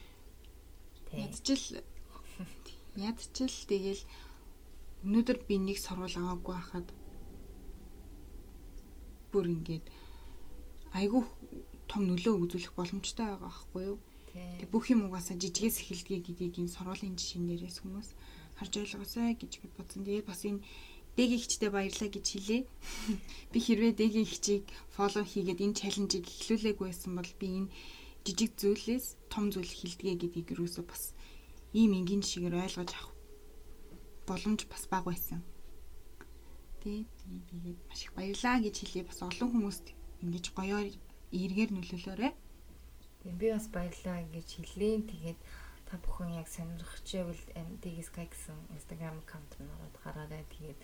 F: Ядчил тэгэл өнөөдөр би нэг сурвал аваагүй хахад бүр ингээд айгүй том нөлөө үзүүлэх боломжтой байгаа байхгүй юу? Тэг бүх юм угаасаа жижигээс эхэлдэг гэдгийг энэ сурвалын жишээнээрээс хүмүүс харж ойлгосоо гэж би бодсон. Тэгээд бас энэ дэгийн хичтэй баярлаа гэж хэлээ. Би хэрвээ дэгийн хичийг фоллоу хийгээд энэ чаленжийг эхлүүлээгүй байсан бол би энэ жижиг зүйлээс том зүйл хэлдэгэ гэдгийг юусоо бас ийм энгийн жишгээр ойлгож авах боломж бас бага байсан. Тэгээд маш их баярлаа гэж хэлээ. Бас олон хүмүүст ингэж гоёор эргээр нөлөөлөөрэй.
E: Би бас баярлаа гэж хэлээ. Тэгээд та бүхэн яг сонирхчихвэл MDG Sky гэсэн Instagram аккаунт нь ороод гараарай. Тэгээд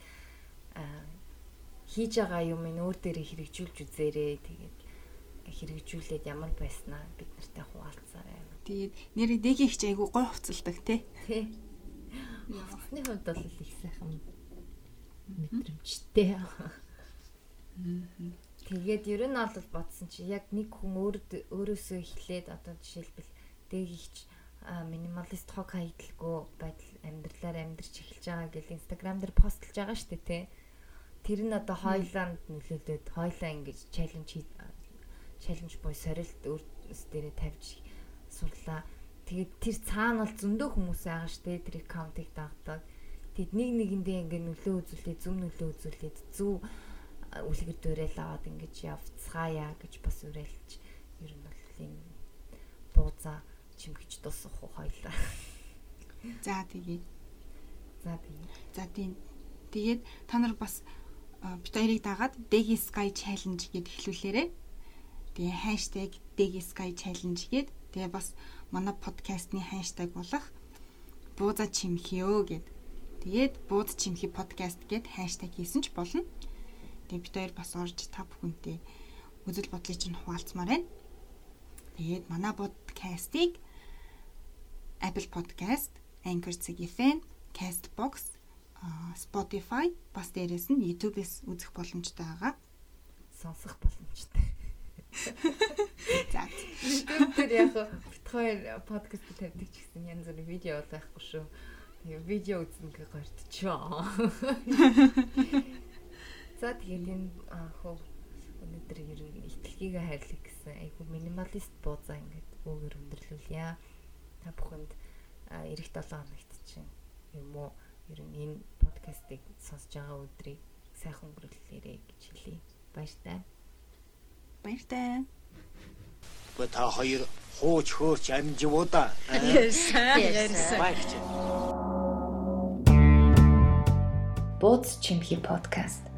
E: хийж байгаа юм ин өөр дээрээ хэрэгжүүлж үзээрэй. Тэгээд хэрэгжүүлээд ямар байснаа бид нартай хуваалцаарай.
F: Тэгээд нэрээ дэгийн хич айгу гой хувцалдаг тий.
E: Хувцсны хувьд бол их сайхан мэдрэмжтэй. Тэгээд ер нь бол бодсон чи яг нэг хүн өөрөөсөө эхлээд одоо жишээлбэл дээгийгч минималист хог хаягдлгүй байдал амьдралаар амьдарч эхэлж байгаа гэл Instagram дээр постлж байгаа шүү дээ тий. Тэр нь одоо хойлоонд нөлөөлөд хойлоо ингэж чаленж буй сорилт өөрөөс дээрээ тавьж сурлаа. Тэгээд тэр цаана бол зөндөө хүмүүс байгаа шүү дээ тэр аккаунтыг дагдаг. Тэгэд нэгэндээ ингэ нөлөө үзүүлээд зөв үлгэр дуурайл аваад ингэж явцгаая гэж бас уриалж ер нь бол энэ бууza чимгэж дуусах уу хоёлаа.
F: За тэгээд та нар бас бит хоёрыг дагаад Degi Sky Challenge гэд эхлүүлээрэй. Тэгээ хаштаг Degi Sky Challenge гэд тэгээ бас манай подкастны хаштаг болох бууza чимхиё гэд. Тэгээд бууza чимхи подкаст гэд хаштаг хийсэн ч болно. Тэгээ бит хоёр бас орж та бүхэнтэй үзэл бодлыг чинь хуваалцмаар байна. Тэгээд манай подкастыг Apple Podcast, Anchor FM, Castbox, Spotify бас дээрээс нь YouTube-с үзэх боломжтой байгаа.
E: Сонсох боломжтой.
F: За.
E: YouTube-ээр яг бит хоёр подкаст тавьдаг ч гэсэн янз бүрийн видео байхгүй шүү. Тэгээ видео үзэн гэ гортчоо. За тэгээд энэ өнөөдөр ер нь ихтлгийг хайрлах гэсэн айгу минималист бууza ингээд өгөр өндөрлүүлье. Та бүхэнд эх 7 хоногт чинь юм уу ер нь энэ подкастыг сонсож байгаа өдрийг сайхан өнгөрүүлээрэй гэж хэлье. Баяртай.
D: Та хоёр хууч хөөч амживуудаа.
E: Бууз чимхи подкаст